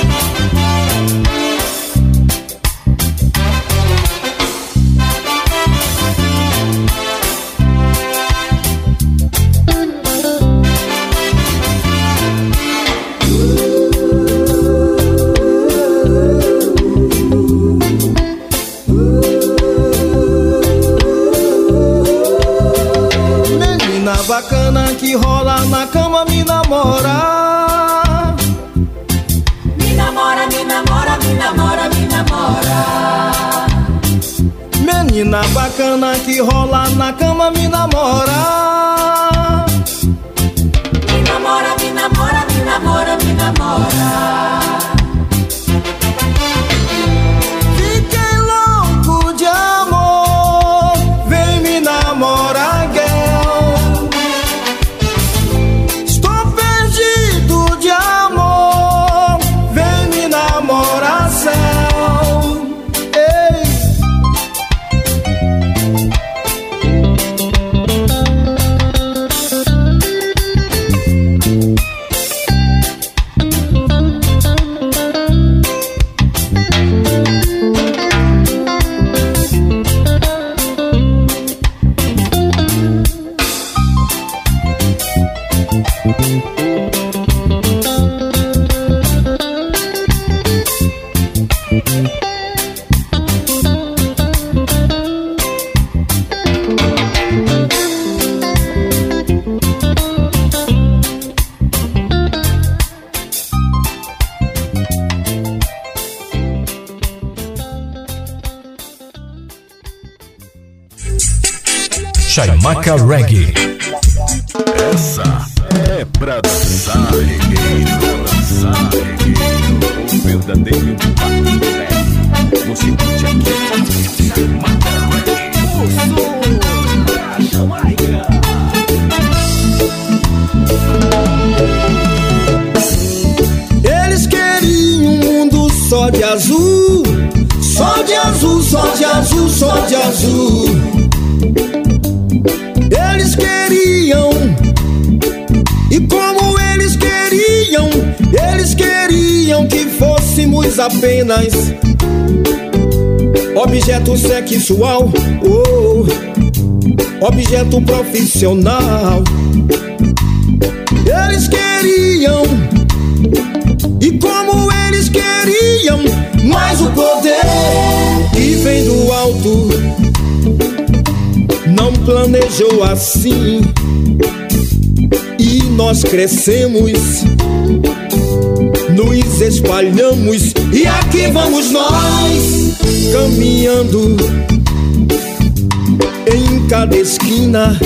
Menina bacana que rola na cama me namora. Me namora, me namora, me namora, me namora. Menina bacana que rola na cama me namora. Me namora, me namora, me namora, me namora. Fiquei louco de amor, vem me namorar, girl. Estou perdido de amor, vem me namorar, céu. Ei. Chaimaca Reggae. Essa é pra dançar, regueiro, dançar, regueiro. Um verdadeiro impacto reggae. Você curte aqui, Chaimaca Reggae. O som da Jamaica. Eles queriam um mundo só de azul, só de azul, só de azul, só de azul. Eles queriam, e como eles queriam, eles queriam que fôssemos apenas objeto sexual, oh, objeto profissional. Eles queriam, e como eles queriam, planejou assim e nós crescemos, nos espalhamos e aqui vamos nós caminhando em cada esquina,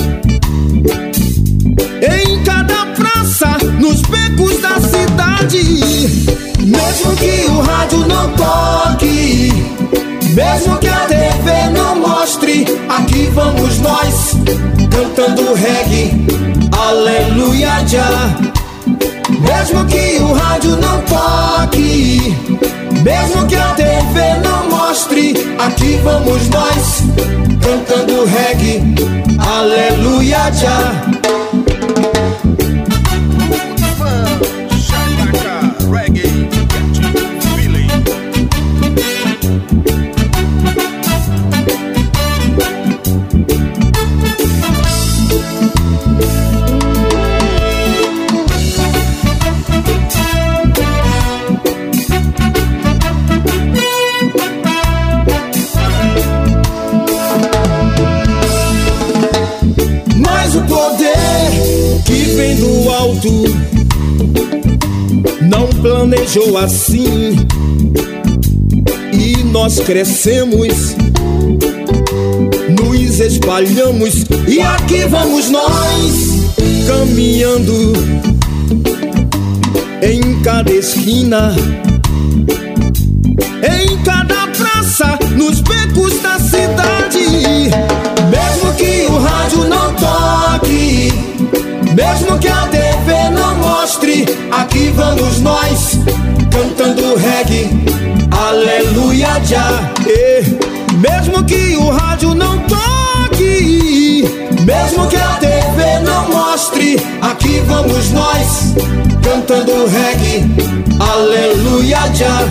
em cada praça, nos becos da cidade. Mesmo que o rádio não toque, mesmo que a T V não mostre, aqui vamos nós cantando reggae, aleluia já. Mesmo que o rádio não toque, mesmo que a T V não mostre, aqui vamos nós cantando reggae, aleluia já. Do alto não planejou assim e nós crescemos, nos espalhamos e aqui vamos nós caminhando em cada esquina, em cada praça, nos becos da cidade. Mesmo que o rádio não toque, mesmo que a T V não mostre, aqui vamos nós cantando reggae, aleluia já. E mesmo que o rádio não toque, mesmo que a T V não mostre, aqui vamos nós cantando reggae, aleluia já.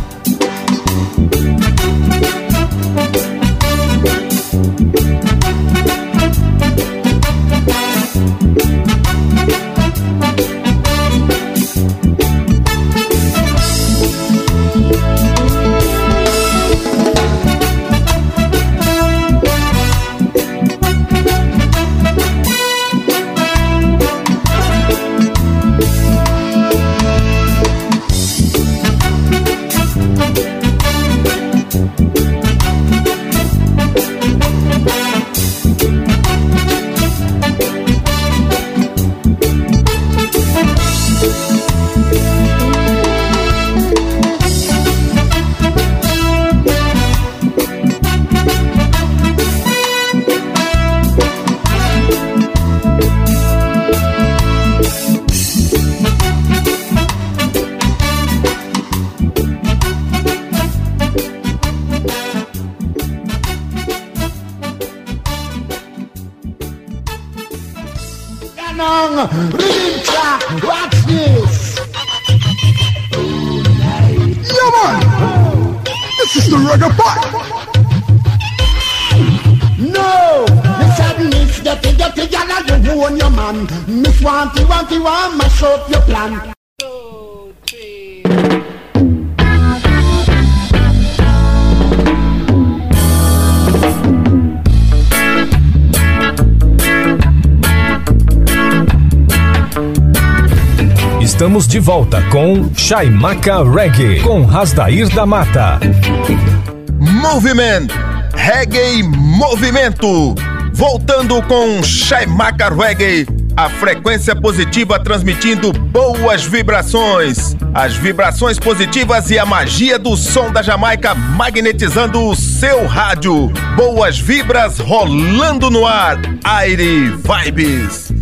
Watch this. Yeah, man. This is the reggae part. No, the sadness, the figure, the gala, you own your man. Miss Wanty, Wanty, want mash up your plan. Estamos de volta com Chaimaca Reggae, com Rasdair da Mata. Moviment, Reggae Movimento. Voltando com Chaimaca Reggae, a frequência positiva transmitindo boas vibrações. As vibrações positivas e a magia do som da Jamaica magnetizando o seu rádio. Boas vibras rolando no ar. Aire Vibes.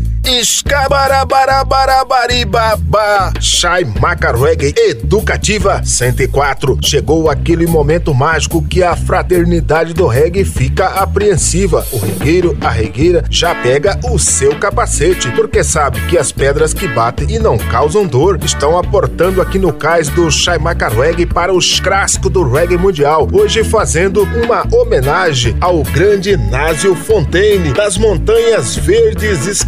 Escabarabarabarabá, Chaimaca Reggae Educativa cento e quatro. Chegou aquele momento mágico que a fraternidade do reggae fica apreensiva. O regueiro, a regueira já pega o seu capacete, porque sabe que as pedras que batem e não causam dor estão aportando aqui no cais do Chaimaca Reggae para os clássicos do reggae mundial. Hoje fazendo uma homenagem ao grande Násio Fontaine, das Montanhas Verdes Escarpadas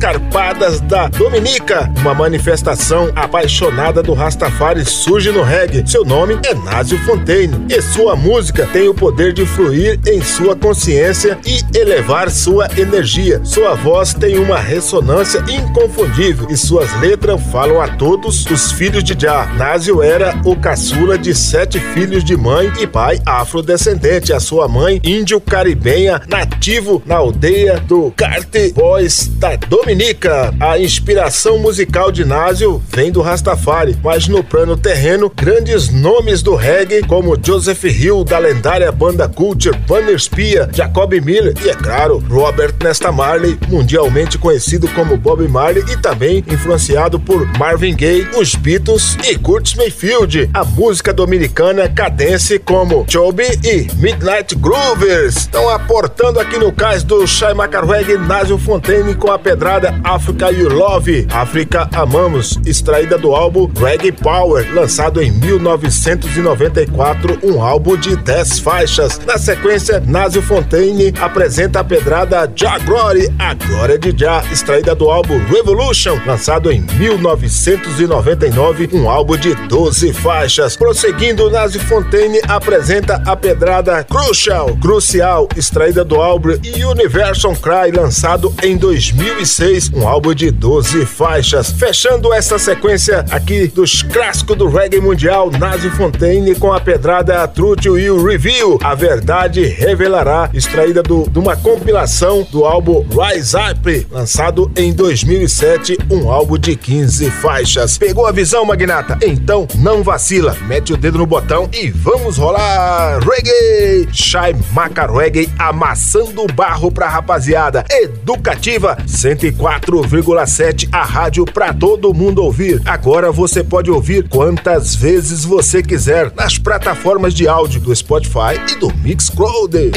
Quebradas da Dominica. Uma manifestação apaixonada do Rastafari surge no reggae. Seu nome é Násio Fontaine e sua música tem o poder de fluir em sua consciência e elevar sua energia. Sua voz tem uma ressonância inconfundível e suas letras falam a todos os filhos de Jah. Násio era o caçula de sete filhos de mãe e pai afrodescendente. A sua mãe, índio-caribenha, nativo na aldeia do Carte Boys da Dominica. A inspiração musical de Násio vem do Rastafari, mas no plano terreno, grandes nomes do reggae como Joseph Hill, da lendária banda Culture, Banner Spear, Jacob Miller e, é claro, Robert Nesta Marley, mundialmente conhecido como Bob Marley e também influenciado por Marvin Gaye, os Beatles e Curtis Mayfield. A música dominicana cadence como Chobi e Midnight Groovers estão aportando aqui no cais do Shai Maca Reggae Násio Fontaine com a pedrada Africa You Love, África Amamos, extraída do álbum Reggae Power, lançado em mil novecentos e noventa e quatro, um álbum de dez faixas. Na sequência, Násio Fontaine apresenta a pedrada Jah Glory, a glória de Jah, extraída do álbum Revolution, lançado em mil novecentos e noventa e nove, um álbum de doze faixas. Prosseguindo, Násio Fontaine apresenta a pedrada Crucial, Crucial, extraída do álbum Universal Cry, lançado em dois mil e seis, um álbum de doze faixas. Fechando essa sequência aqui dos clássicos do reggae mundial, Násio Fontaine com a pedrada Truth Will Reveal, a verdade revelará, extraída do, de uma compilação do álbum Rise Up, lançado em dois mil e sete, um álbum de quinze faixas. Pegou a visão, magnata? Então não vacila, mete o dedo no botão e vamos rolar reggae! Shai Maca Reggae amassando barro pra rapaziada. Educativa cento e quatro vírgula sete, a rádio pra todo mundo ouvir. Agora você pode ouvir quantas vezes você quiser nas plataformas de áudio do Spotify e do Mixcloud.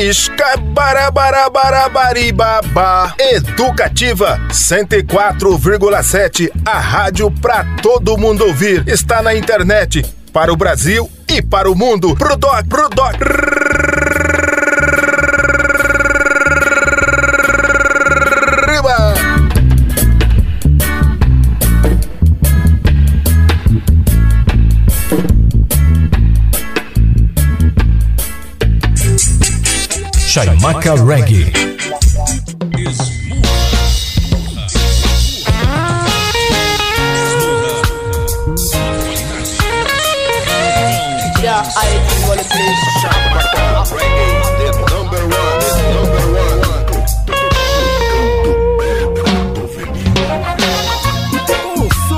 Escabarabarabarabaribaba. Educativa cento e quatro vírgula sete, a rádio pra todo mundo ouvir. Está na internet para o Brasil e para o mundo. Pro doc, pro doc. Shai Maca Reggae. Yeah, I want to play Shai Maca Reggae, the number one, the number one. Oh, so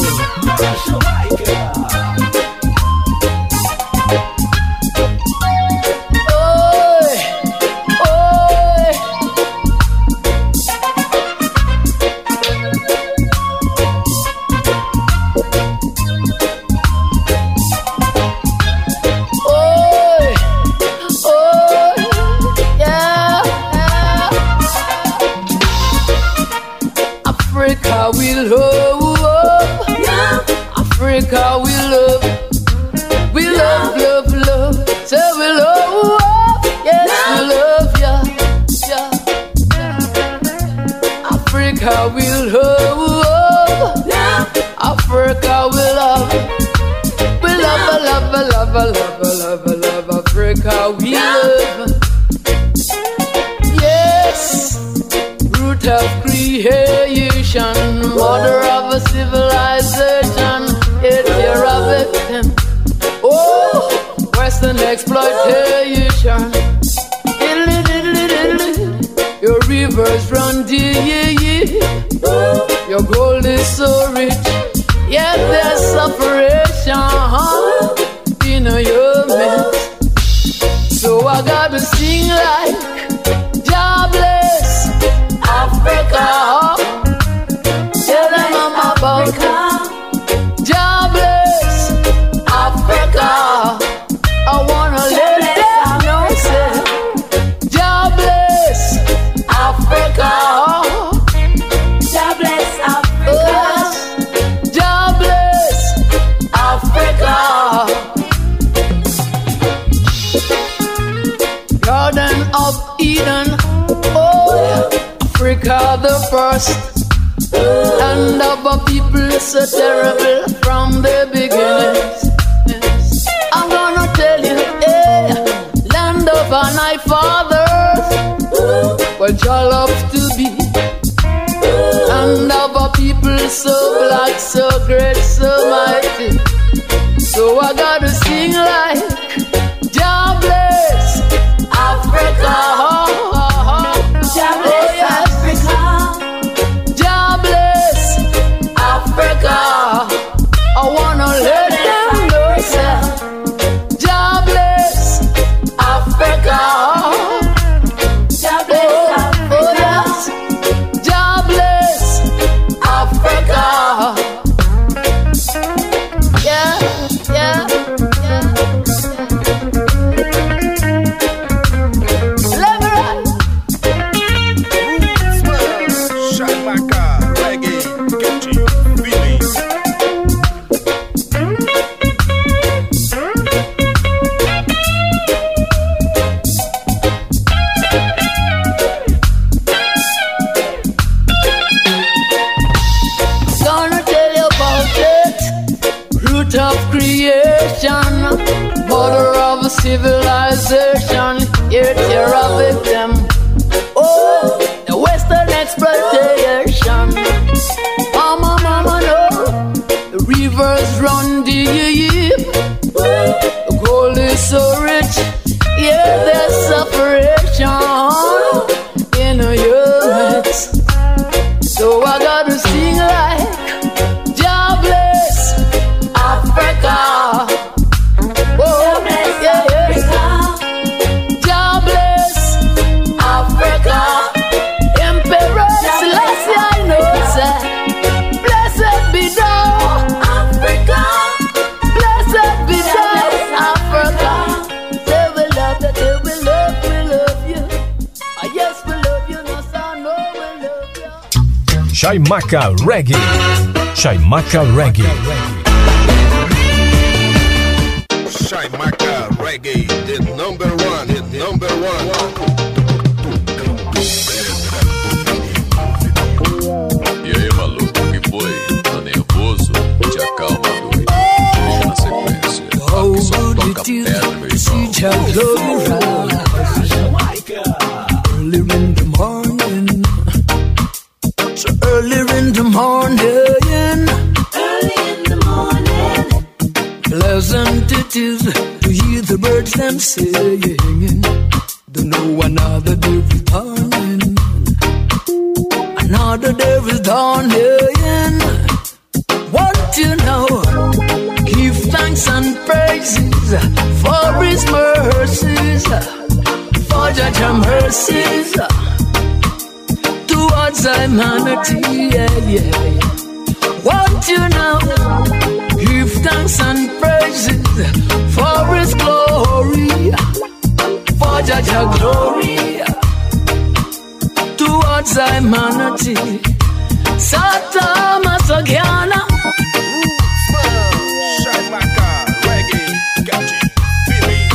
we love, Africa we love, we love, love, love, so we love, yes we love ya, yeah, Africa we love, Africa we love, we love, love, love, love, love, love, Africa we love, yes, root of creation, mother of a civilization, it's your victim. Oh, Western exploitation. Diddly, diddly, diddly. Your rivers run deep. Your gold is so rich, yet there's separation in your midst. So I gotta sing like Jah bless Africa. Tell them I'm about Jah bless Africa. I wanna let them know, say Jah bless Africa. Jah bless Africa. Jah bless Africa. Garden of Eden, oh, Africa the first. Land of a people so terrible from the beginnings. Yes. I'm gonna tell you, hey, land of our night fathers, where Jah love to be. Land of a people so black, so great, so mighty. So I gotta sing like Jah bless Africa. Jah bless Africa. Jah bless Africa. I wanna let them know, sir. Jah bless Africa. Jah bless Africa. Oh yes. Jah bless Africa. Yeah, yeah, yeah. Let me ride. Chaimaca Reggae, catchy feelings. Gonna tell you about it. Root of creation, mother of civilization. Here, tear a victim. Oh, the Western exploitation. Mama, mama, no. The rivers run deep. The gold is so rich. Yeah, there's separation in a unit. So I gotta sing like Jah bless Africa. Oh, yeah, yeah. Jah bless Africa. Emperor Selassie, I know, sir. Blessed be thou, Africa. Blessed be thou, Africa. Say we love you, say we love, we love you. Ah, yes, we love you, no, sir, no, we love you. Chaimaca Reggae. Chaimaca Reggae. Chaimaca Reggae, the number one, the number one. E aí, maluco, que foi? Tá nervoso? Te acalma, doido. Deixa na sequência. Aqui só toca pedra, meu irmão. Early in the morning, so early in the morning, early in the morning, pleasant it is to hear the birds them singing. Don't know another day is dawning, another day is dawning. What you know? Give thanks and praises for His mercies, for Jah mercies towards humanity. Yeah, yeah. What you know? Give thanks and praises for His glory, for Jah glory towards humanity. Sata Masagiana. Chaimaca Reggae, catchy feelings.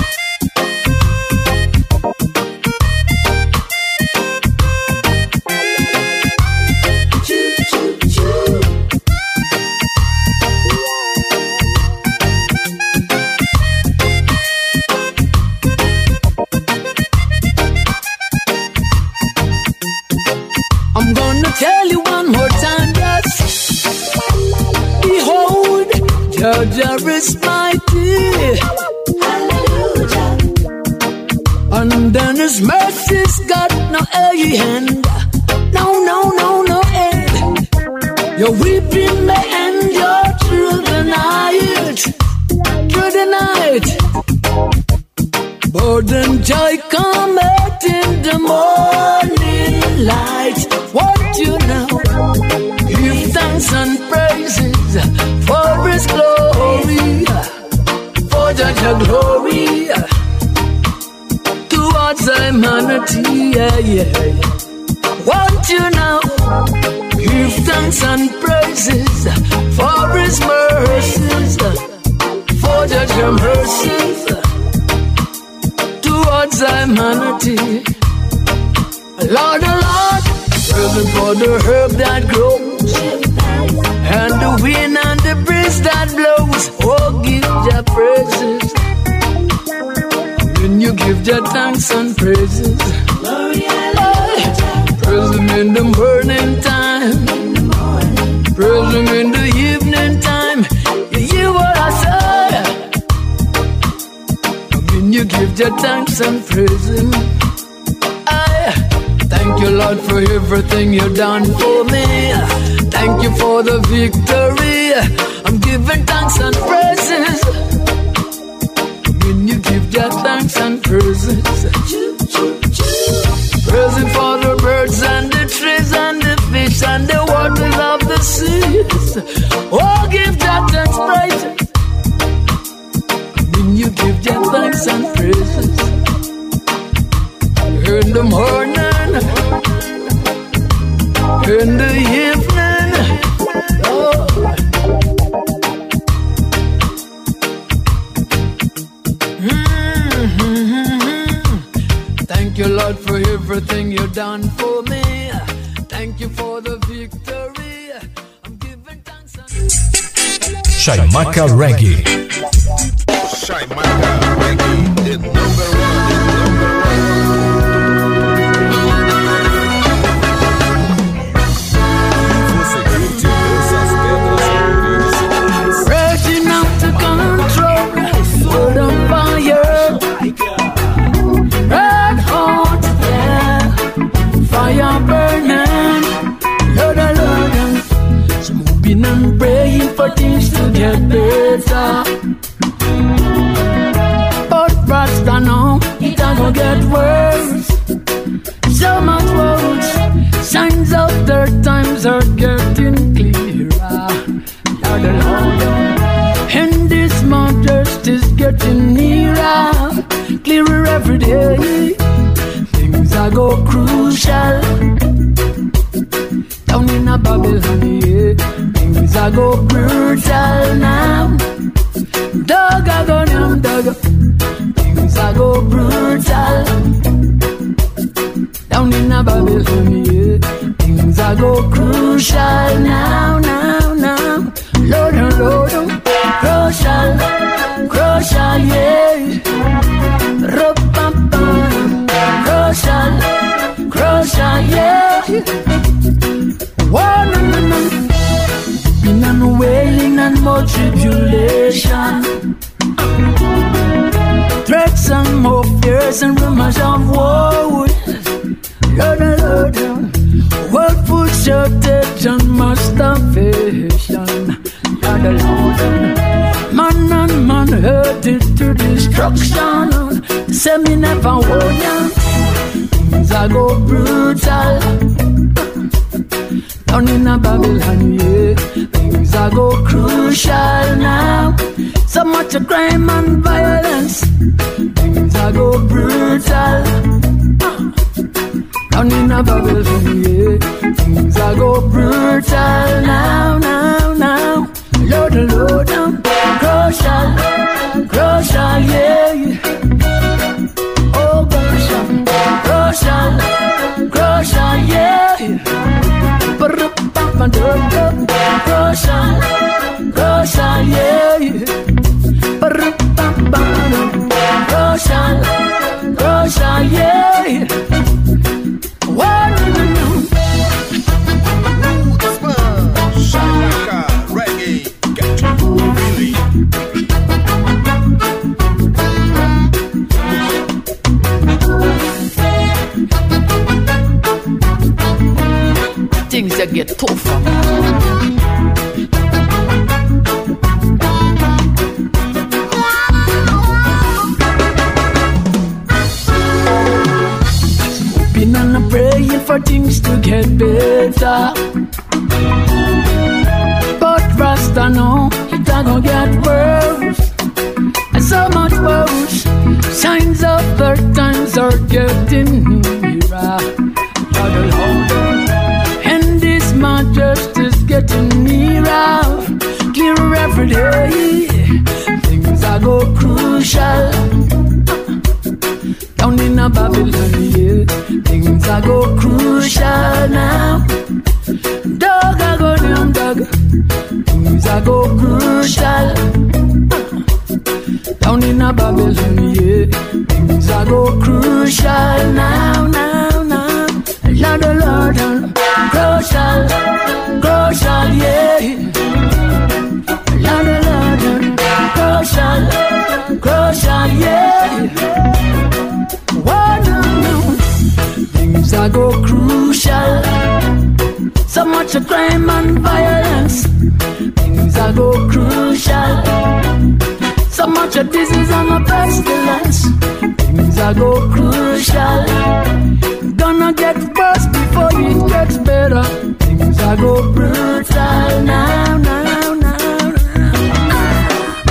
I'm gonna tell you one more time, yes. Behold, Jah is mighty. Hallelujah. And then His mercy's got no end. No, no, no, no end. Your weeping may endure through the night, through the night. But then joy cometh in the morning light. What you know? Give thanks and praises for His glory, for Jah glory towards humanity. Yeah, yeah. What you know? Give thanks and praises for His mercies, for Jah mercies towards humanity. Lord, oh Lord, working for the herb that grows and the wind and the breeze that blows. Oh, give your praises. When you give your thanks and praises, oh, praise Him in the morning time, praise Him in the evening time. You hear what I say? When you give your thanks and praise Him, I thank you, Lord, for everything you've done for me. Thank you for the victory. I'm giving thanks and praises. When you give your thanks and praises, praising for the birds and the trees and the fish and the waters of the seas. Oh, give your thanks, praises. When you give your thanks and praises, in the morning, in the evening, oh. Mm-hmm. Thank you, Lord, for everything you've done for me. Thank you for the victory. I'm giving thanks and... Chaimaca Reggae. Chaimaca Reggae, the number one, the number one. Raging out to control, world on fire, red hot, yeah, fire burning, Lord, Lord, so moving and praying for things to get better. But Rasta know it ain't gonna get worse, so much worse. Signs of their times are getting clearer, Lord, Lord, and this Mount Justice getting nearer, clearer every day. Things are go crucial down in a Babylon, yeah. Things are go brutal now. Dog a go down, dog. Things are go brutal down in a Babylon, yeah. Things are go crucial now, now, now. Lord, oh, Lord, oh. Crucial, crucial, yeah. Ru-pam-pam. Crucial, crucial, yeah. Whoa, no, no, no. Been on wailing and more tribulation, threats and more fears and rumors of war. Lord, Lord, world food shortage and mass starvation. Lord, Lord, man and man hurted to destruction. Say me never warn ya. Things are go brutal down in a Babylon, yeah. Things are go crucial now. So much crime and violence. Things are go brutal down in a Babylon, yeah. Things are go brutal now, now, now. Lord, Lord, now. Crucial, crucial, yeah. Oh, crucial, crucial, crucial, yeah. Crucial, crucial, yeah. Crucial, crucial, yeah. One, no, no. Chaimaca Reggae, get you really. Things that get tougher. Been on a praying for things to get better, but Rasta know it ain't gonna get worse, and so much worse. Signs of their times are getting nearer, Lord, Lord, and this man justice getting nearer, clearer every day. Things are go crucial down in a Babylon, yeah. Things are go crucial now. Dog I go are go crucial. Down in a Babylon, yeah, things are go crucial now, now, now. Lord, oh Lord, oh, crucial, crucial, yeah. Lord, oh Lord, oh, crucial, crucial, yeah. Whoa, no, no. Things are go crucial. So much of crime and violence. Things are go crucial. So much of disease and a pestilence. Things are go crucial. Gonna get worse before it gets better. Things are go brutal now, now, now, now.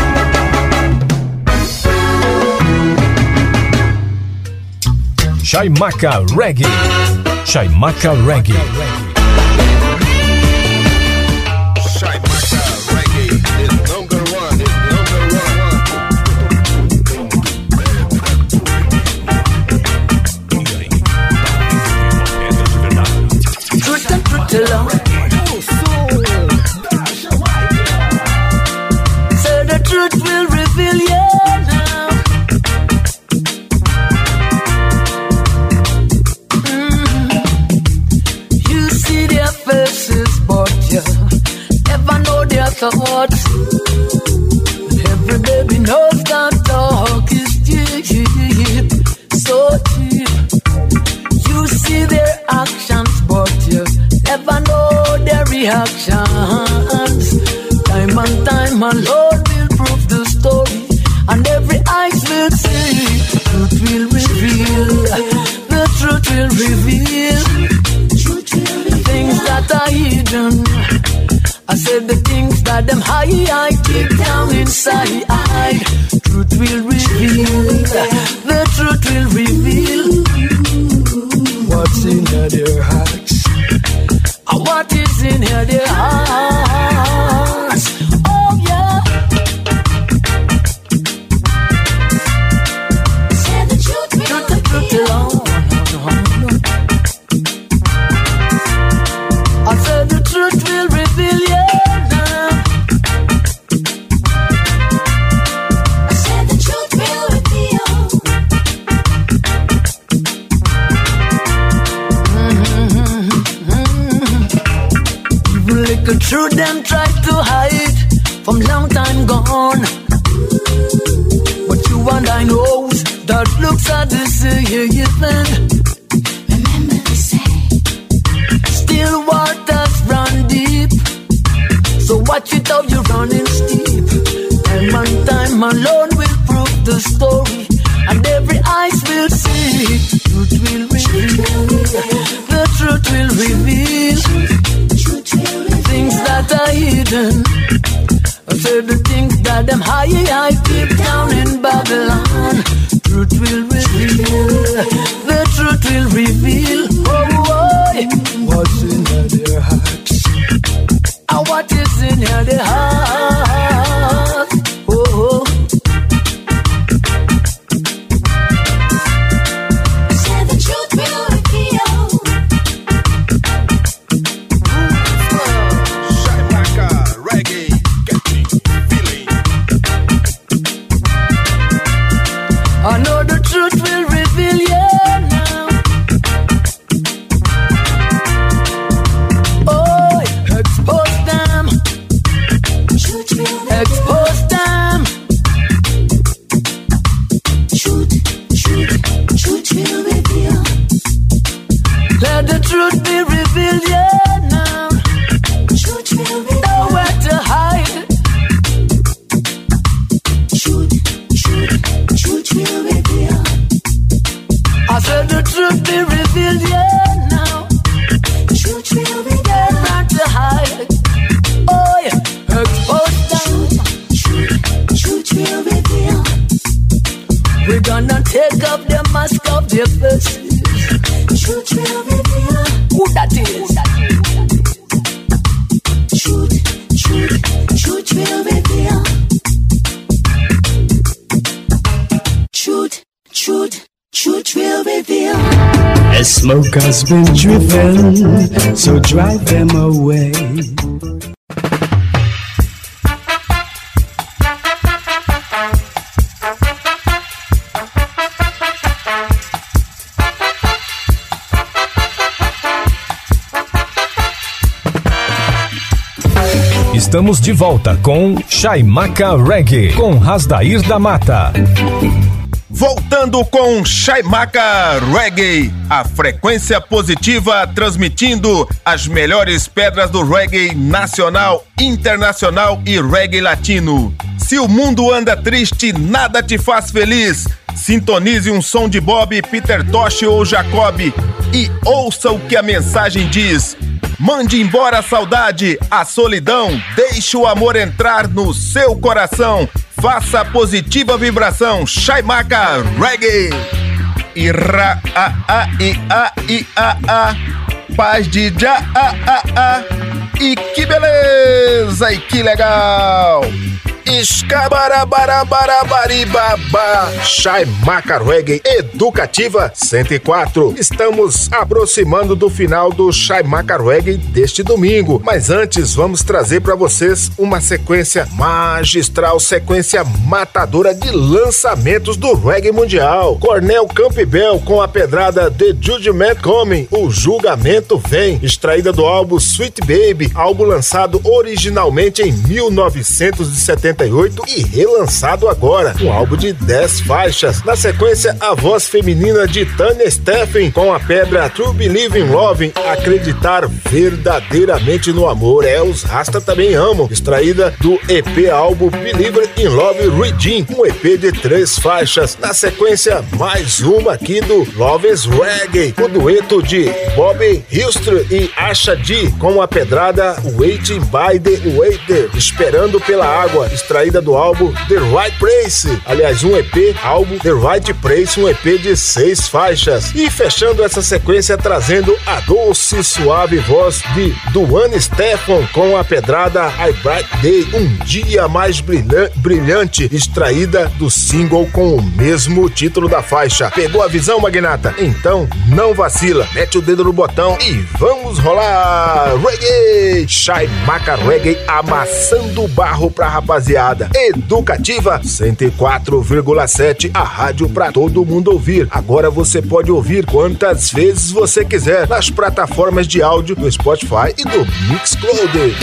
Chaimaca Reggae. Chaimaca Reggae. So the truth will reveal you now. Mm. You see their faces, but you never know their thoughts. Every baby knows that talk is cheap, so cheap. You see their actions, but you never know their reactions. Time and time alone will prove the story, and every eyes will see. Truth will reveal, the truth will reveal. Things that are hidden, I said the things that them high, I keep down inside. Truth will reveal, the truth will reveal what's in their hearts. What is in their hearts? Oh yeah. Say the truth, truth, the truth alone. I said the truth will reveal you now. I said the truth will reveal. Little truth them tried to hide from long time gone, but you and I knows that looks are the same. Remember to say, still waters run deep, so watch it how you're running steep. Time and time alone will prove the story, and every eyes will see. Truth will reveal, the truth will reveal. Things that are hidden, I said the things that them high, I keep down in Babylon. Truth will reveal, the truth will reveal. Oh, boy, what's in their hearts? And what is in their hearts? Oh, oh. Say the truth will reveal. I know the truth will reveal you now. Oh, expose them. Expose them. Truth, truth, truth will reveal. Let the truth be revealed, yeah, now. Truth will reveal. Nowhere to hide. Truth, truth, truth will reveal. I said the truth be revealed, yeah, now. Truth will reveal. Not to hide. Oh, yeah. Expose them. Truth, truth will reveal. We're gonna take up the mask of their faces. Truth will reveal. Who that is? Truth, truth, truth will reveal. Truth, truth, truth will reveal. A smoke has been driven, so drive them away. estamos de volta com Chaimaca Reggae, com Rasdair da Mata. Voltando com Chaimaca Reggae, a frequência positiva transmitindo as melhores pedras do reggae nacional, internacional e reggae latino. Se o mundo anda triste, nada te faz feliz. Sintonize um som de Bob, Peter Tosh ou Jacob e ouça o que a mensagem diz. Mande embora a saudade, a solidão, deixe o amor entrar no seu coração. Faça a positiva vibração, Chaimaca Reggae. Ira a a i a i a a, paz de já a a a. E que beleza, e que legal! Escabarabarabarabariba, Chaimaca Reggae Educativa cento e quatro. Estamos aproximando do final do Chaimaca Reggae deste domingo, mas antes vamos trazer para vocês uma sequência magistral, sequência matadora de lançamentos do reggae mundial. Cornel Campbell com a pedrada The Judgment Coming, o julgamento vem, extraída do álbum Sweet Baby, álbum lançado originalmente em mil novecentos e setenta e oito e relançado agora, um álbum de dez faixas. Na sequência, a voz feminina de Tanya Steffen com a pedra True Believe in Love, acreditar verdadeiramente no amor. É, os Rasta também amam, extraída do E P álbum Believer in Love Redeem, um E P de três faixas. Na sequência, mais uma aqui do Love's Reggae, o dueto de Bobby Hilstre e Asha D com a pedrada Waiting by the Waiter, esperando pela água, extraída do álbum The Right Place, aliás, um E P, álbum The Right Place, um E P de seis faixas. E fechando essa sequência, trazendo a doce e suave voz de Duane Stefan com a pedrada I Bright Day, um dia mais brilha- brilhante, extraída do single com o mesmo título da faixa. Pegou a visão, magnata? Então não vacila, mete o dedo no botão e vamos rolar reggae! Chaimaca Reggae amassando barro pra rapaziada. Educativa cento e quatro vírgula sete, a rádio pra todo mundo ouvir. Agora você pode ouvir quantas vezes você quiser nas plataformas de áudio do Spotify e do Mixcloud.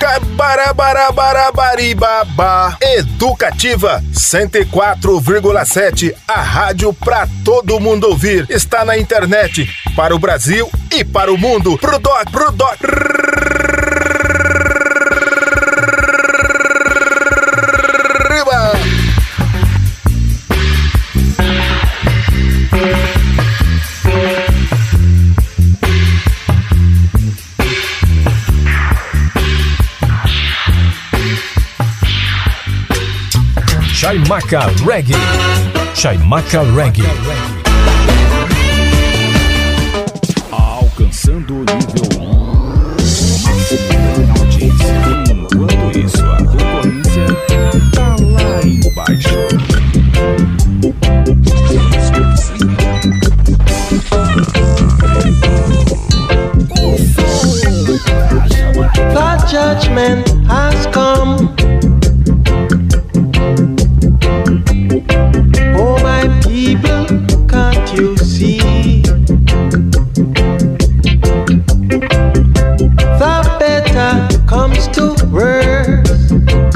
Escabarabarabarabariba. Educativa cento e quatro vírgula sete, a rádio pra todo mundo ouvir. Está na internet para o Brasil e para o mundo. Pro doc, pro doc. Chaimaca Reggae. Chaimaca Reggae. Alcançando o nível máximo na audiência. Enquanto isso, a concorrência tá lá embaixo. The judgment has come. Oh my people, can't you see? The better comes to worse.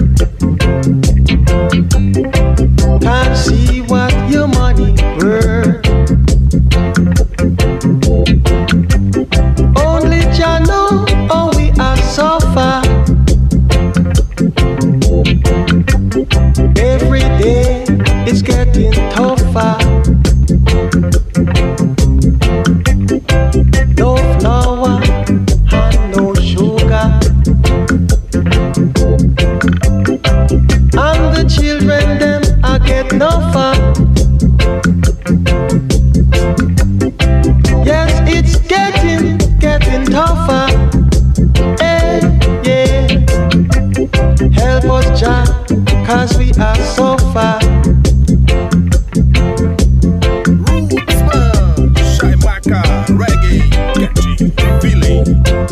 Can't see what your money worth. Only Jah know how we are suffer. Every day it's getting tougher. No flour and no sugar, and the children them I get no fun. Yes, it's getting, getting tougher. Hey, yeah. Help us, Jah, 'cause we are so far. Chaimaca Reggae, catchy feeling.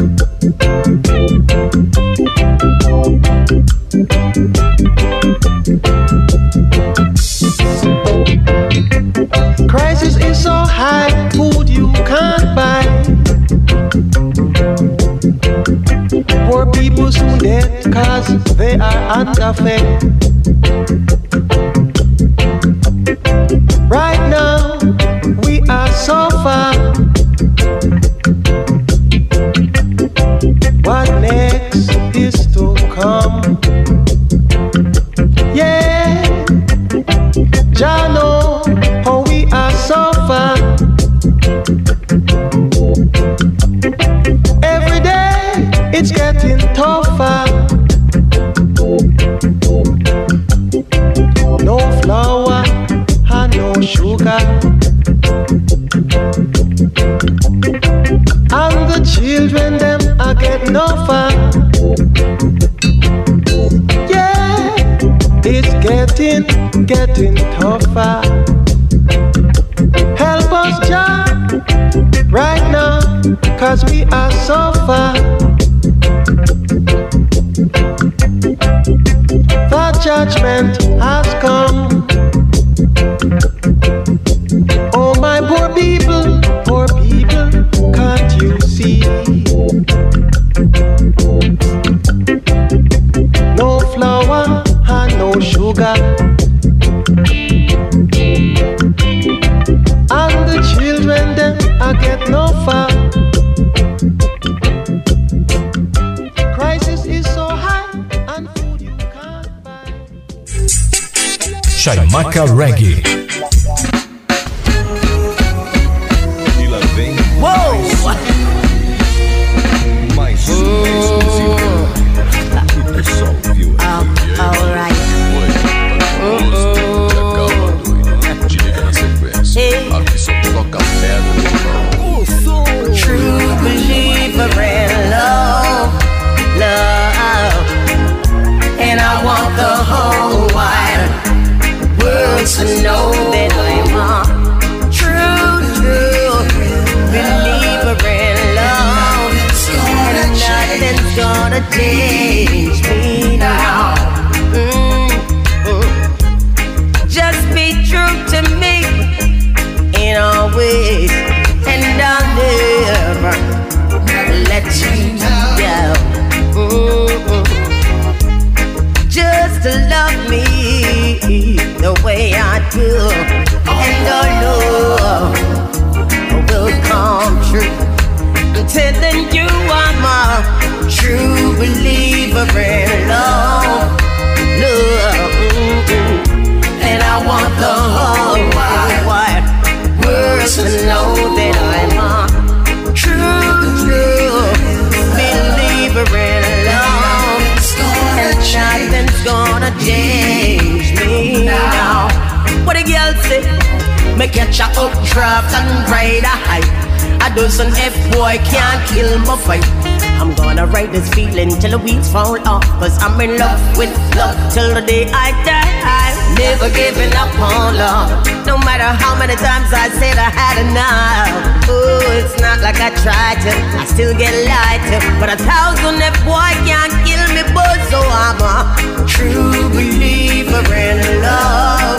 Crisis is so high, food you can't buy. Poor people soon dead 'cause they are under fate. Right now, we are so far. What next is to come? Yeah, Jah know how we are so far. Every day it's getting tougher. No flour and no sugar, and the children them are getting no far. Yeah, it's getting, getting tougher. Help us, Jah, right now, 'cause we are so far. The judgment has come. Oh my poor people, poor people, can't you see? No flour and no sugar, and the children them I get no far. Crisis is so high and food you can't buy. Chaimaca Reggae. E lá vem Uou! mais um exclusivo. O pessoal viu essa Alright. Te liga na sequência. Aqui só toca pedra. True believer in love, love. And I want the whole wide world to know that I'm a true, true believer in love. And nothing's gonna change me now. Mm-mm. Just be true to me in all ways, and I'll never let you down. Mm-mm. Just to love me the way I do, and our love will come true. I'm telling you I'm a true believer in love, love. Mm-mm. And I want the whole wide, wide world to know that I'm a true, true believer in love. And nothing's gonna change me now. What a girl say, me catch a updraft and ride a high. A dozen F-boy can't kill my fight. I'm gonna ride this feeling till the weeds fall off, 'cause I'm in love with love till the day I die. Never giving up on love, no matter how many times I said I had enough. Oh, it's not like I tried to, I still get lied to. But a thousand F-boy can't kill me, but so I'm a true believer in love,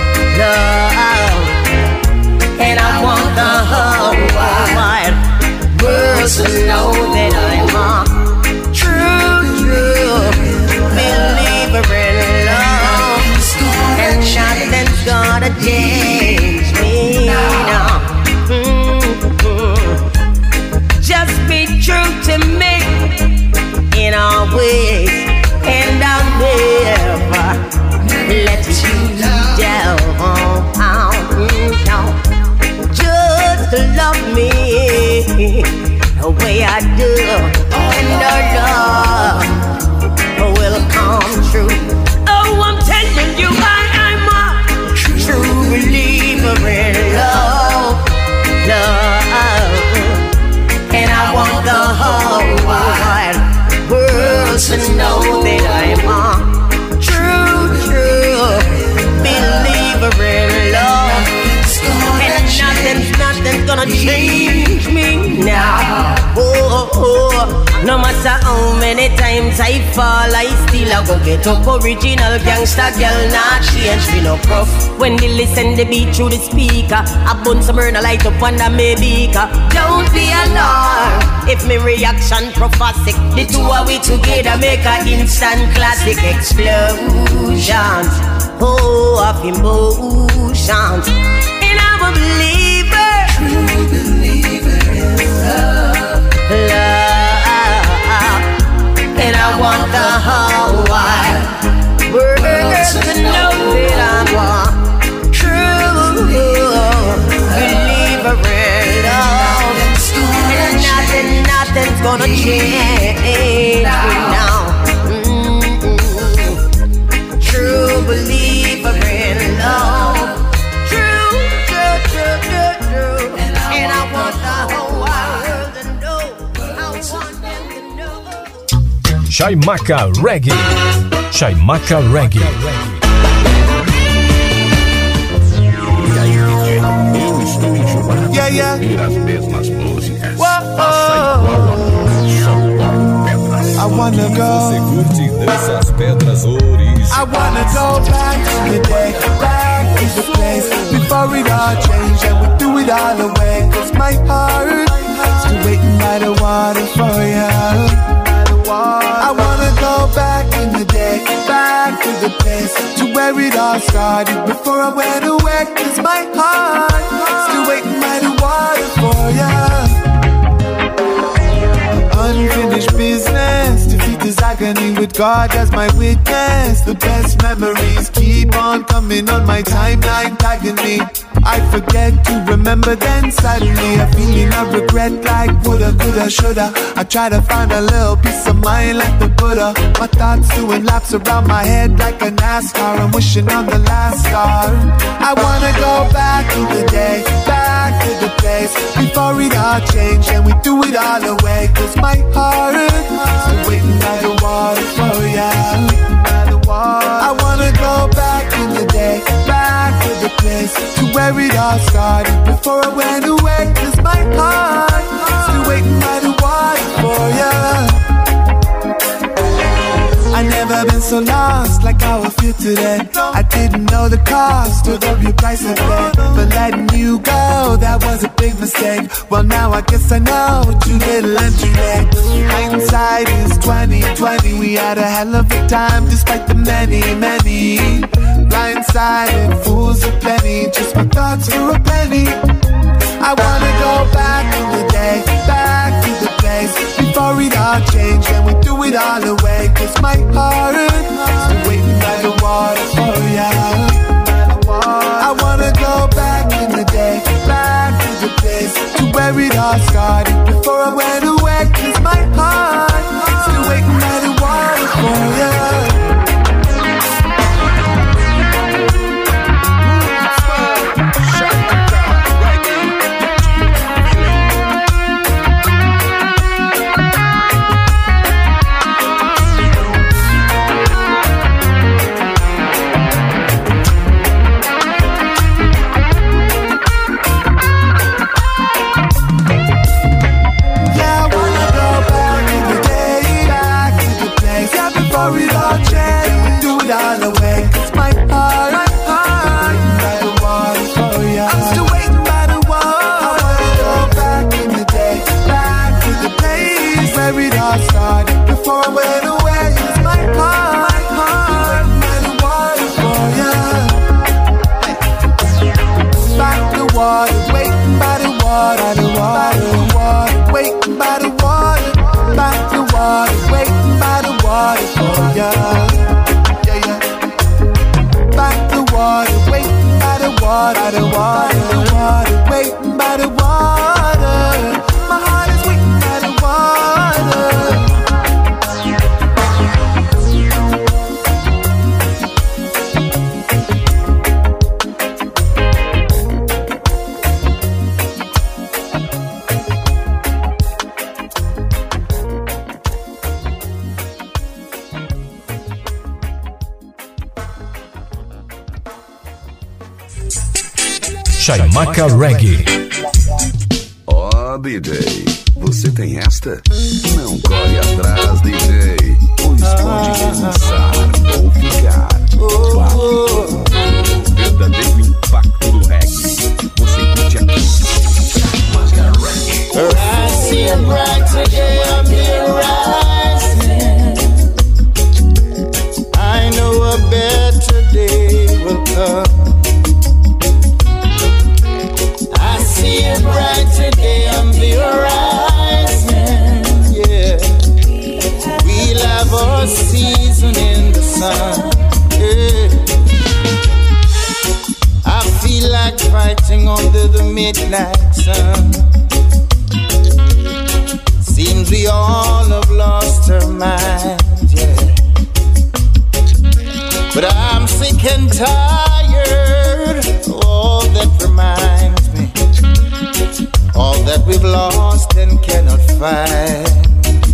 love. And I want the whole wide world to know that I'm a true, true believer in love. And nothing's gonna change me now. Mm-hmm. Just be true to me in all ways, and I'll never let you down. No. Just to love me the way I do, and our love will come true. Oh, I'm telling you, I am a true believer. many times I fall, I still a go get up. Original gangsta girl, not change me no prof. When they listen the beat through the speaker, I bun some burn a light up under me beaker. Don't be alarmed if me reaction prophetic. The two of we together make a instant classic explosion. Oh, of emotions. And I'm a believer, true believer in love, love. And I want the whole wide world to know that I'm a true believer in love. And nothing, nothing's gonna change me now. Mm-mm. True believer in love. True, true, true, true, true. And I want the whole world to know. I want them to know. Chaimaca Reggae. Chaimaca Reggae. Eu estou enjoado Yeah, yeah. de ouvir as mesmas músicas. Whoa. Faça igual a mim, só toque pedras. I wanna go. Você curte dessas pedras originais. I wanna go back to the day, back to the place before it all changed and we threw it all away. Cause my heart still waiting by the water for you. I wanna go back in the day, back to the place to where it all started before I went away. Cause my heart still waiting by the water for you. Unfinished business, defeat this agony with God as my witness. The best memories keep on coming on my timeline, tagging me. I forget to remember, then suddenly a feeling of regret, like woulda, coulda, shoulda. I try to find a little peace of mind like the Buddha. My thoughts doing laps around my head like a NASCAR. I'm wishing on the last star. I wanna go back to the day, back to the place before it all changed and we threw it all away. Cause my heart still waiting by the water for ya. I wanna go back in the day, back to the place to where it all started before I went away. Cause my heart still waiting by the water for ya. I never been so lost like how I feel today. I didn't know the cost or the real price of it. But letting you go, that was a big mistake. Well now I guess I know what you little entry leg. Hindsight is twenty twenty. We had a hell of a time despite the many, many blindsided fools aplenty. Just my thoughts for a penny. I wanna go back in the day, back to the place before it all changed and we threw it all away. Cause my heart still waiting by the water for ya. I wanna go back in the day, back to the place to where it all started before I went away. Cause my heart still waiting by the water for ya. Chaimaca Reggae. Ó, D J, Você tem esta? Não corre atrás, D J, pois pode relançar ou ficar. Impacto, o verdadeiro impacto do reggae. Você curte aqui. Máscara Reggae. I see a brighter day on the horizon. I know a better day will come. I see a brighter day on the horizon. Yeah, we'll have our season in the sun. Yeah. I feel like fighting under the midnight sun. Seems we all have lost our minds, yeah. But I'm sick and tired of all that reminds me, all that we've lost and cannot find.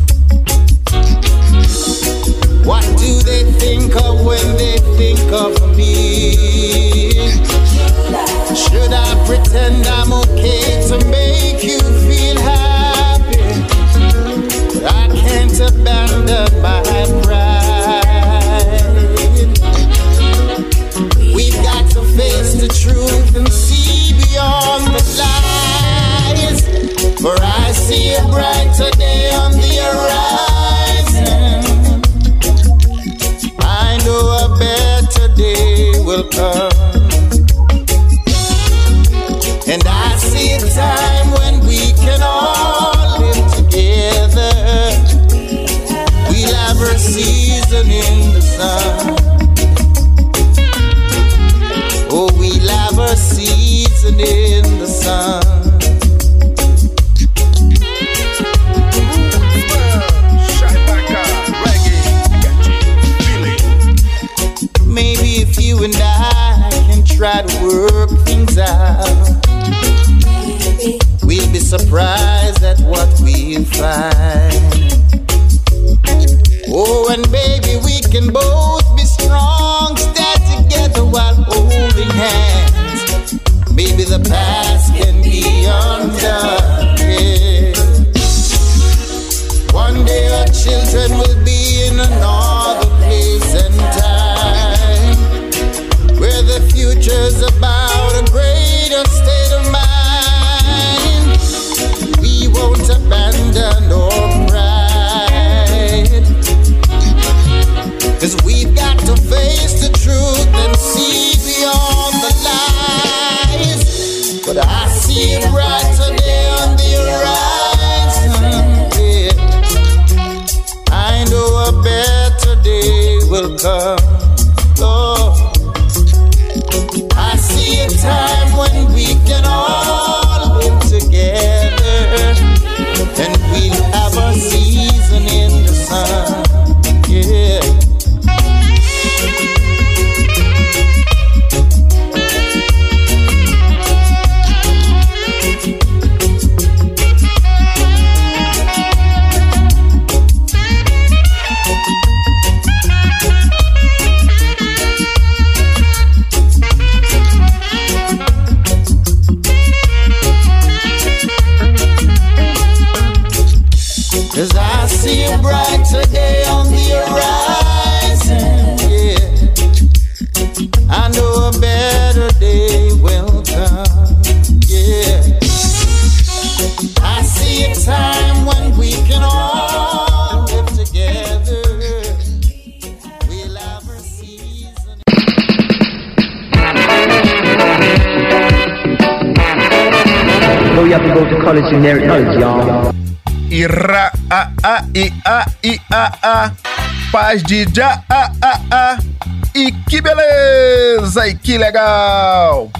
What do they think of when they think of me? Should I pretend I'm okay to make you feel happy? I can't abandon my pride. We've got to face the truth and see beyond the lies. For I see a brighter day on the horizon. I know a better day will come. And I see a time when we can all live together. We'll have our season in the sun. Oh, we'll have our season in the sun. Maybe if you and I can try to work things out, we'll be surprised at what we'll find. Oh, and baby, we can both be strong, stand together while holding hands. Maybe the past can be undone, yeah. One day our children will be in another place and time, where the future's about a greater state of mind. We won't abandon our pride, 'cause we've got to face the truth and see beyond the lies. But I see a brighter day on the horizon, yeah. I know a better day will come. Oh, I see a time when we can all live together, and we'll have our season in the sun, yeah. Cause I see a brighter day on the horizon, yeah. I know a better day will come, yeah. I see a time when we can all live together. We'll have our season. No, you have to go to college in their knowledge, y'all. Ira, a, a, i, a, i, a, a. Paz de já, a, a, a. E que beleza, e que legal.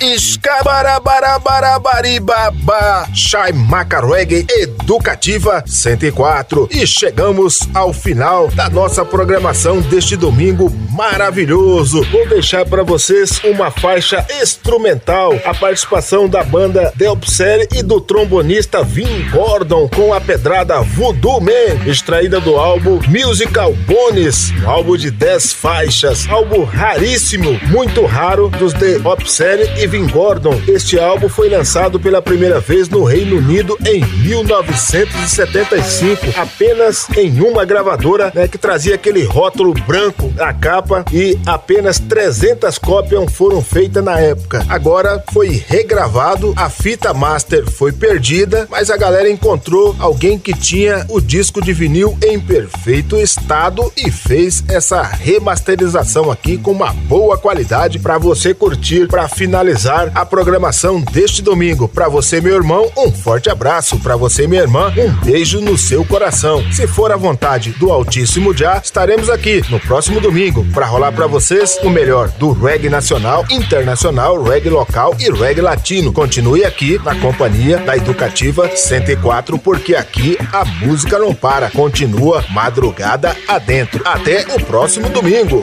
Escabarabarabarabaribaba, Chaimaca Reggae Educativa cento e quatro. E chegamos ao final da nossa programação deste domingo maravilhoso. Vou deixar para vocês uma faixa instrumental, a participação da banda Delpsere e do trombonista Vin Gordon com a pedrada Voodoo Man, extraída do álbum Musical Bones, um álbum de dez faixas, álbum raríssimo, muito raro dos Delpsere e Irving Gordon. Este álbum foi lançado pela primeira vez no Reino Unido em mil novecentos e setenta e cinco, apenas em uma gravadora, né, que trazia aquele rótulo branco na capa, e apenas trezentas cópias foram feitas na época. Agora foi regravado, a fita master foi perdida, mas a galera encontrou alguém que tinha o disco de vinil em perfeito estado e fez essa remasterização aqui com uma boa qualidade para você curtir, para finalizar a programação deste domingo. Para você, meu irmão, um forte abraço. Para você, minha irmã, um beijo no seu coração. Se for a vontade do Altíssimo Já, estaremos aqui no próximo domingo para rolar para vocês o melhor do reggae nacional, internacional, reggae local e reggae latino. Continue aqui na companhia da Educativa cento e quatro, porque aqui a música não para, continua madrugada adentro. Até o próximo domingo.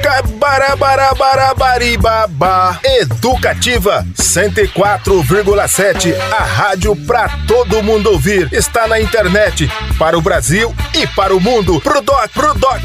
Escabarabarabarabariba. Educativa cento e quatro vírgula sete, a rádio pra todo mundo ouvir. Está na internet para o Brasil e para o mundo. Pro doc, pro doc.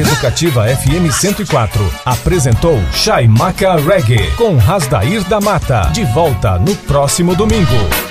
Educativa F M cento e quatro apresentou Chaimaca Reggae com Rasdair da Mata. De volta no próximo domingo.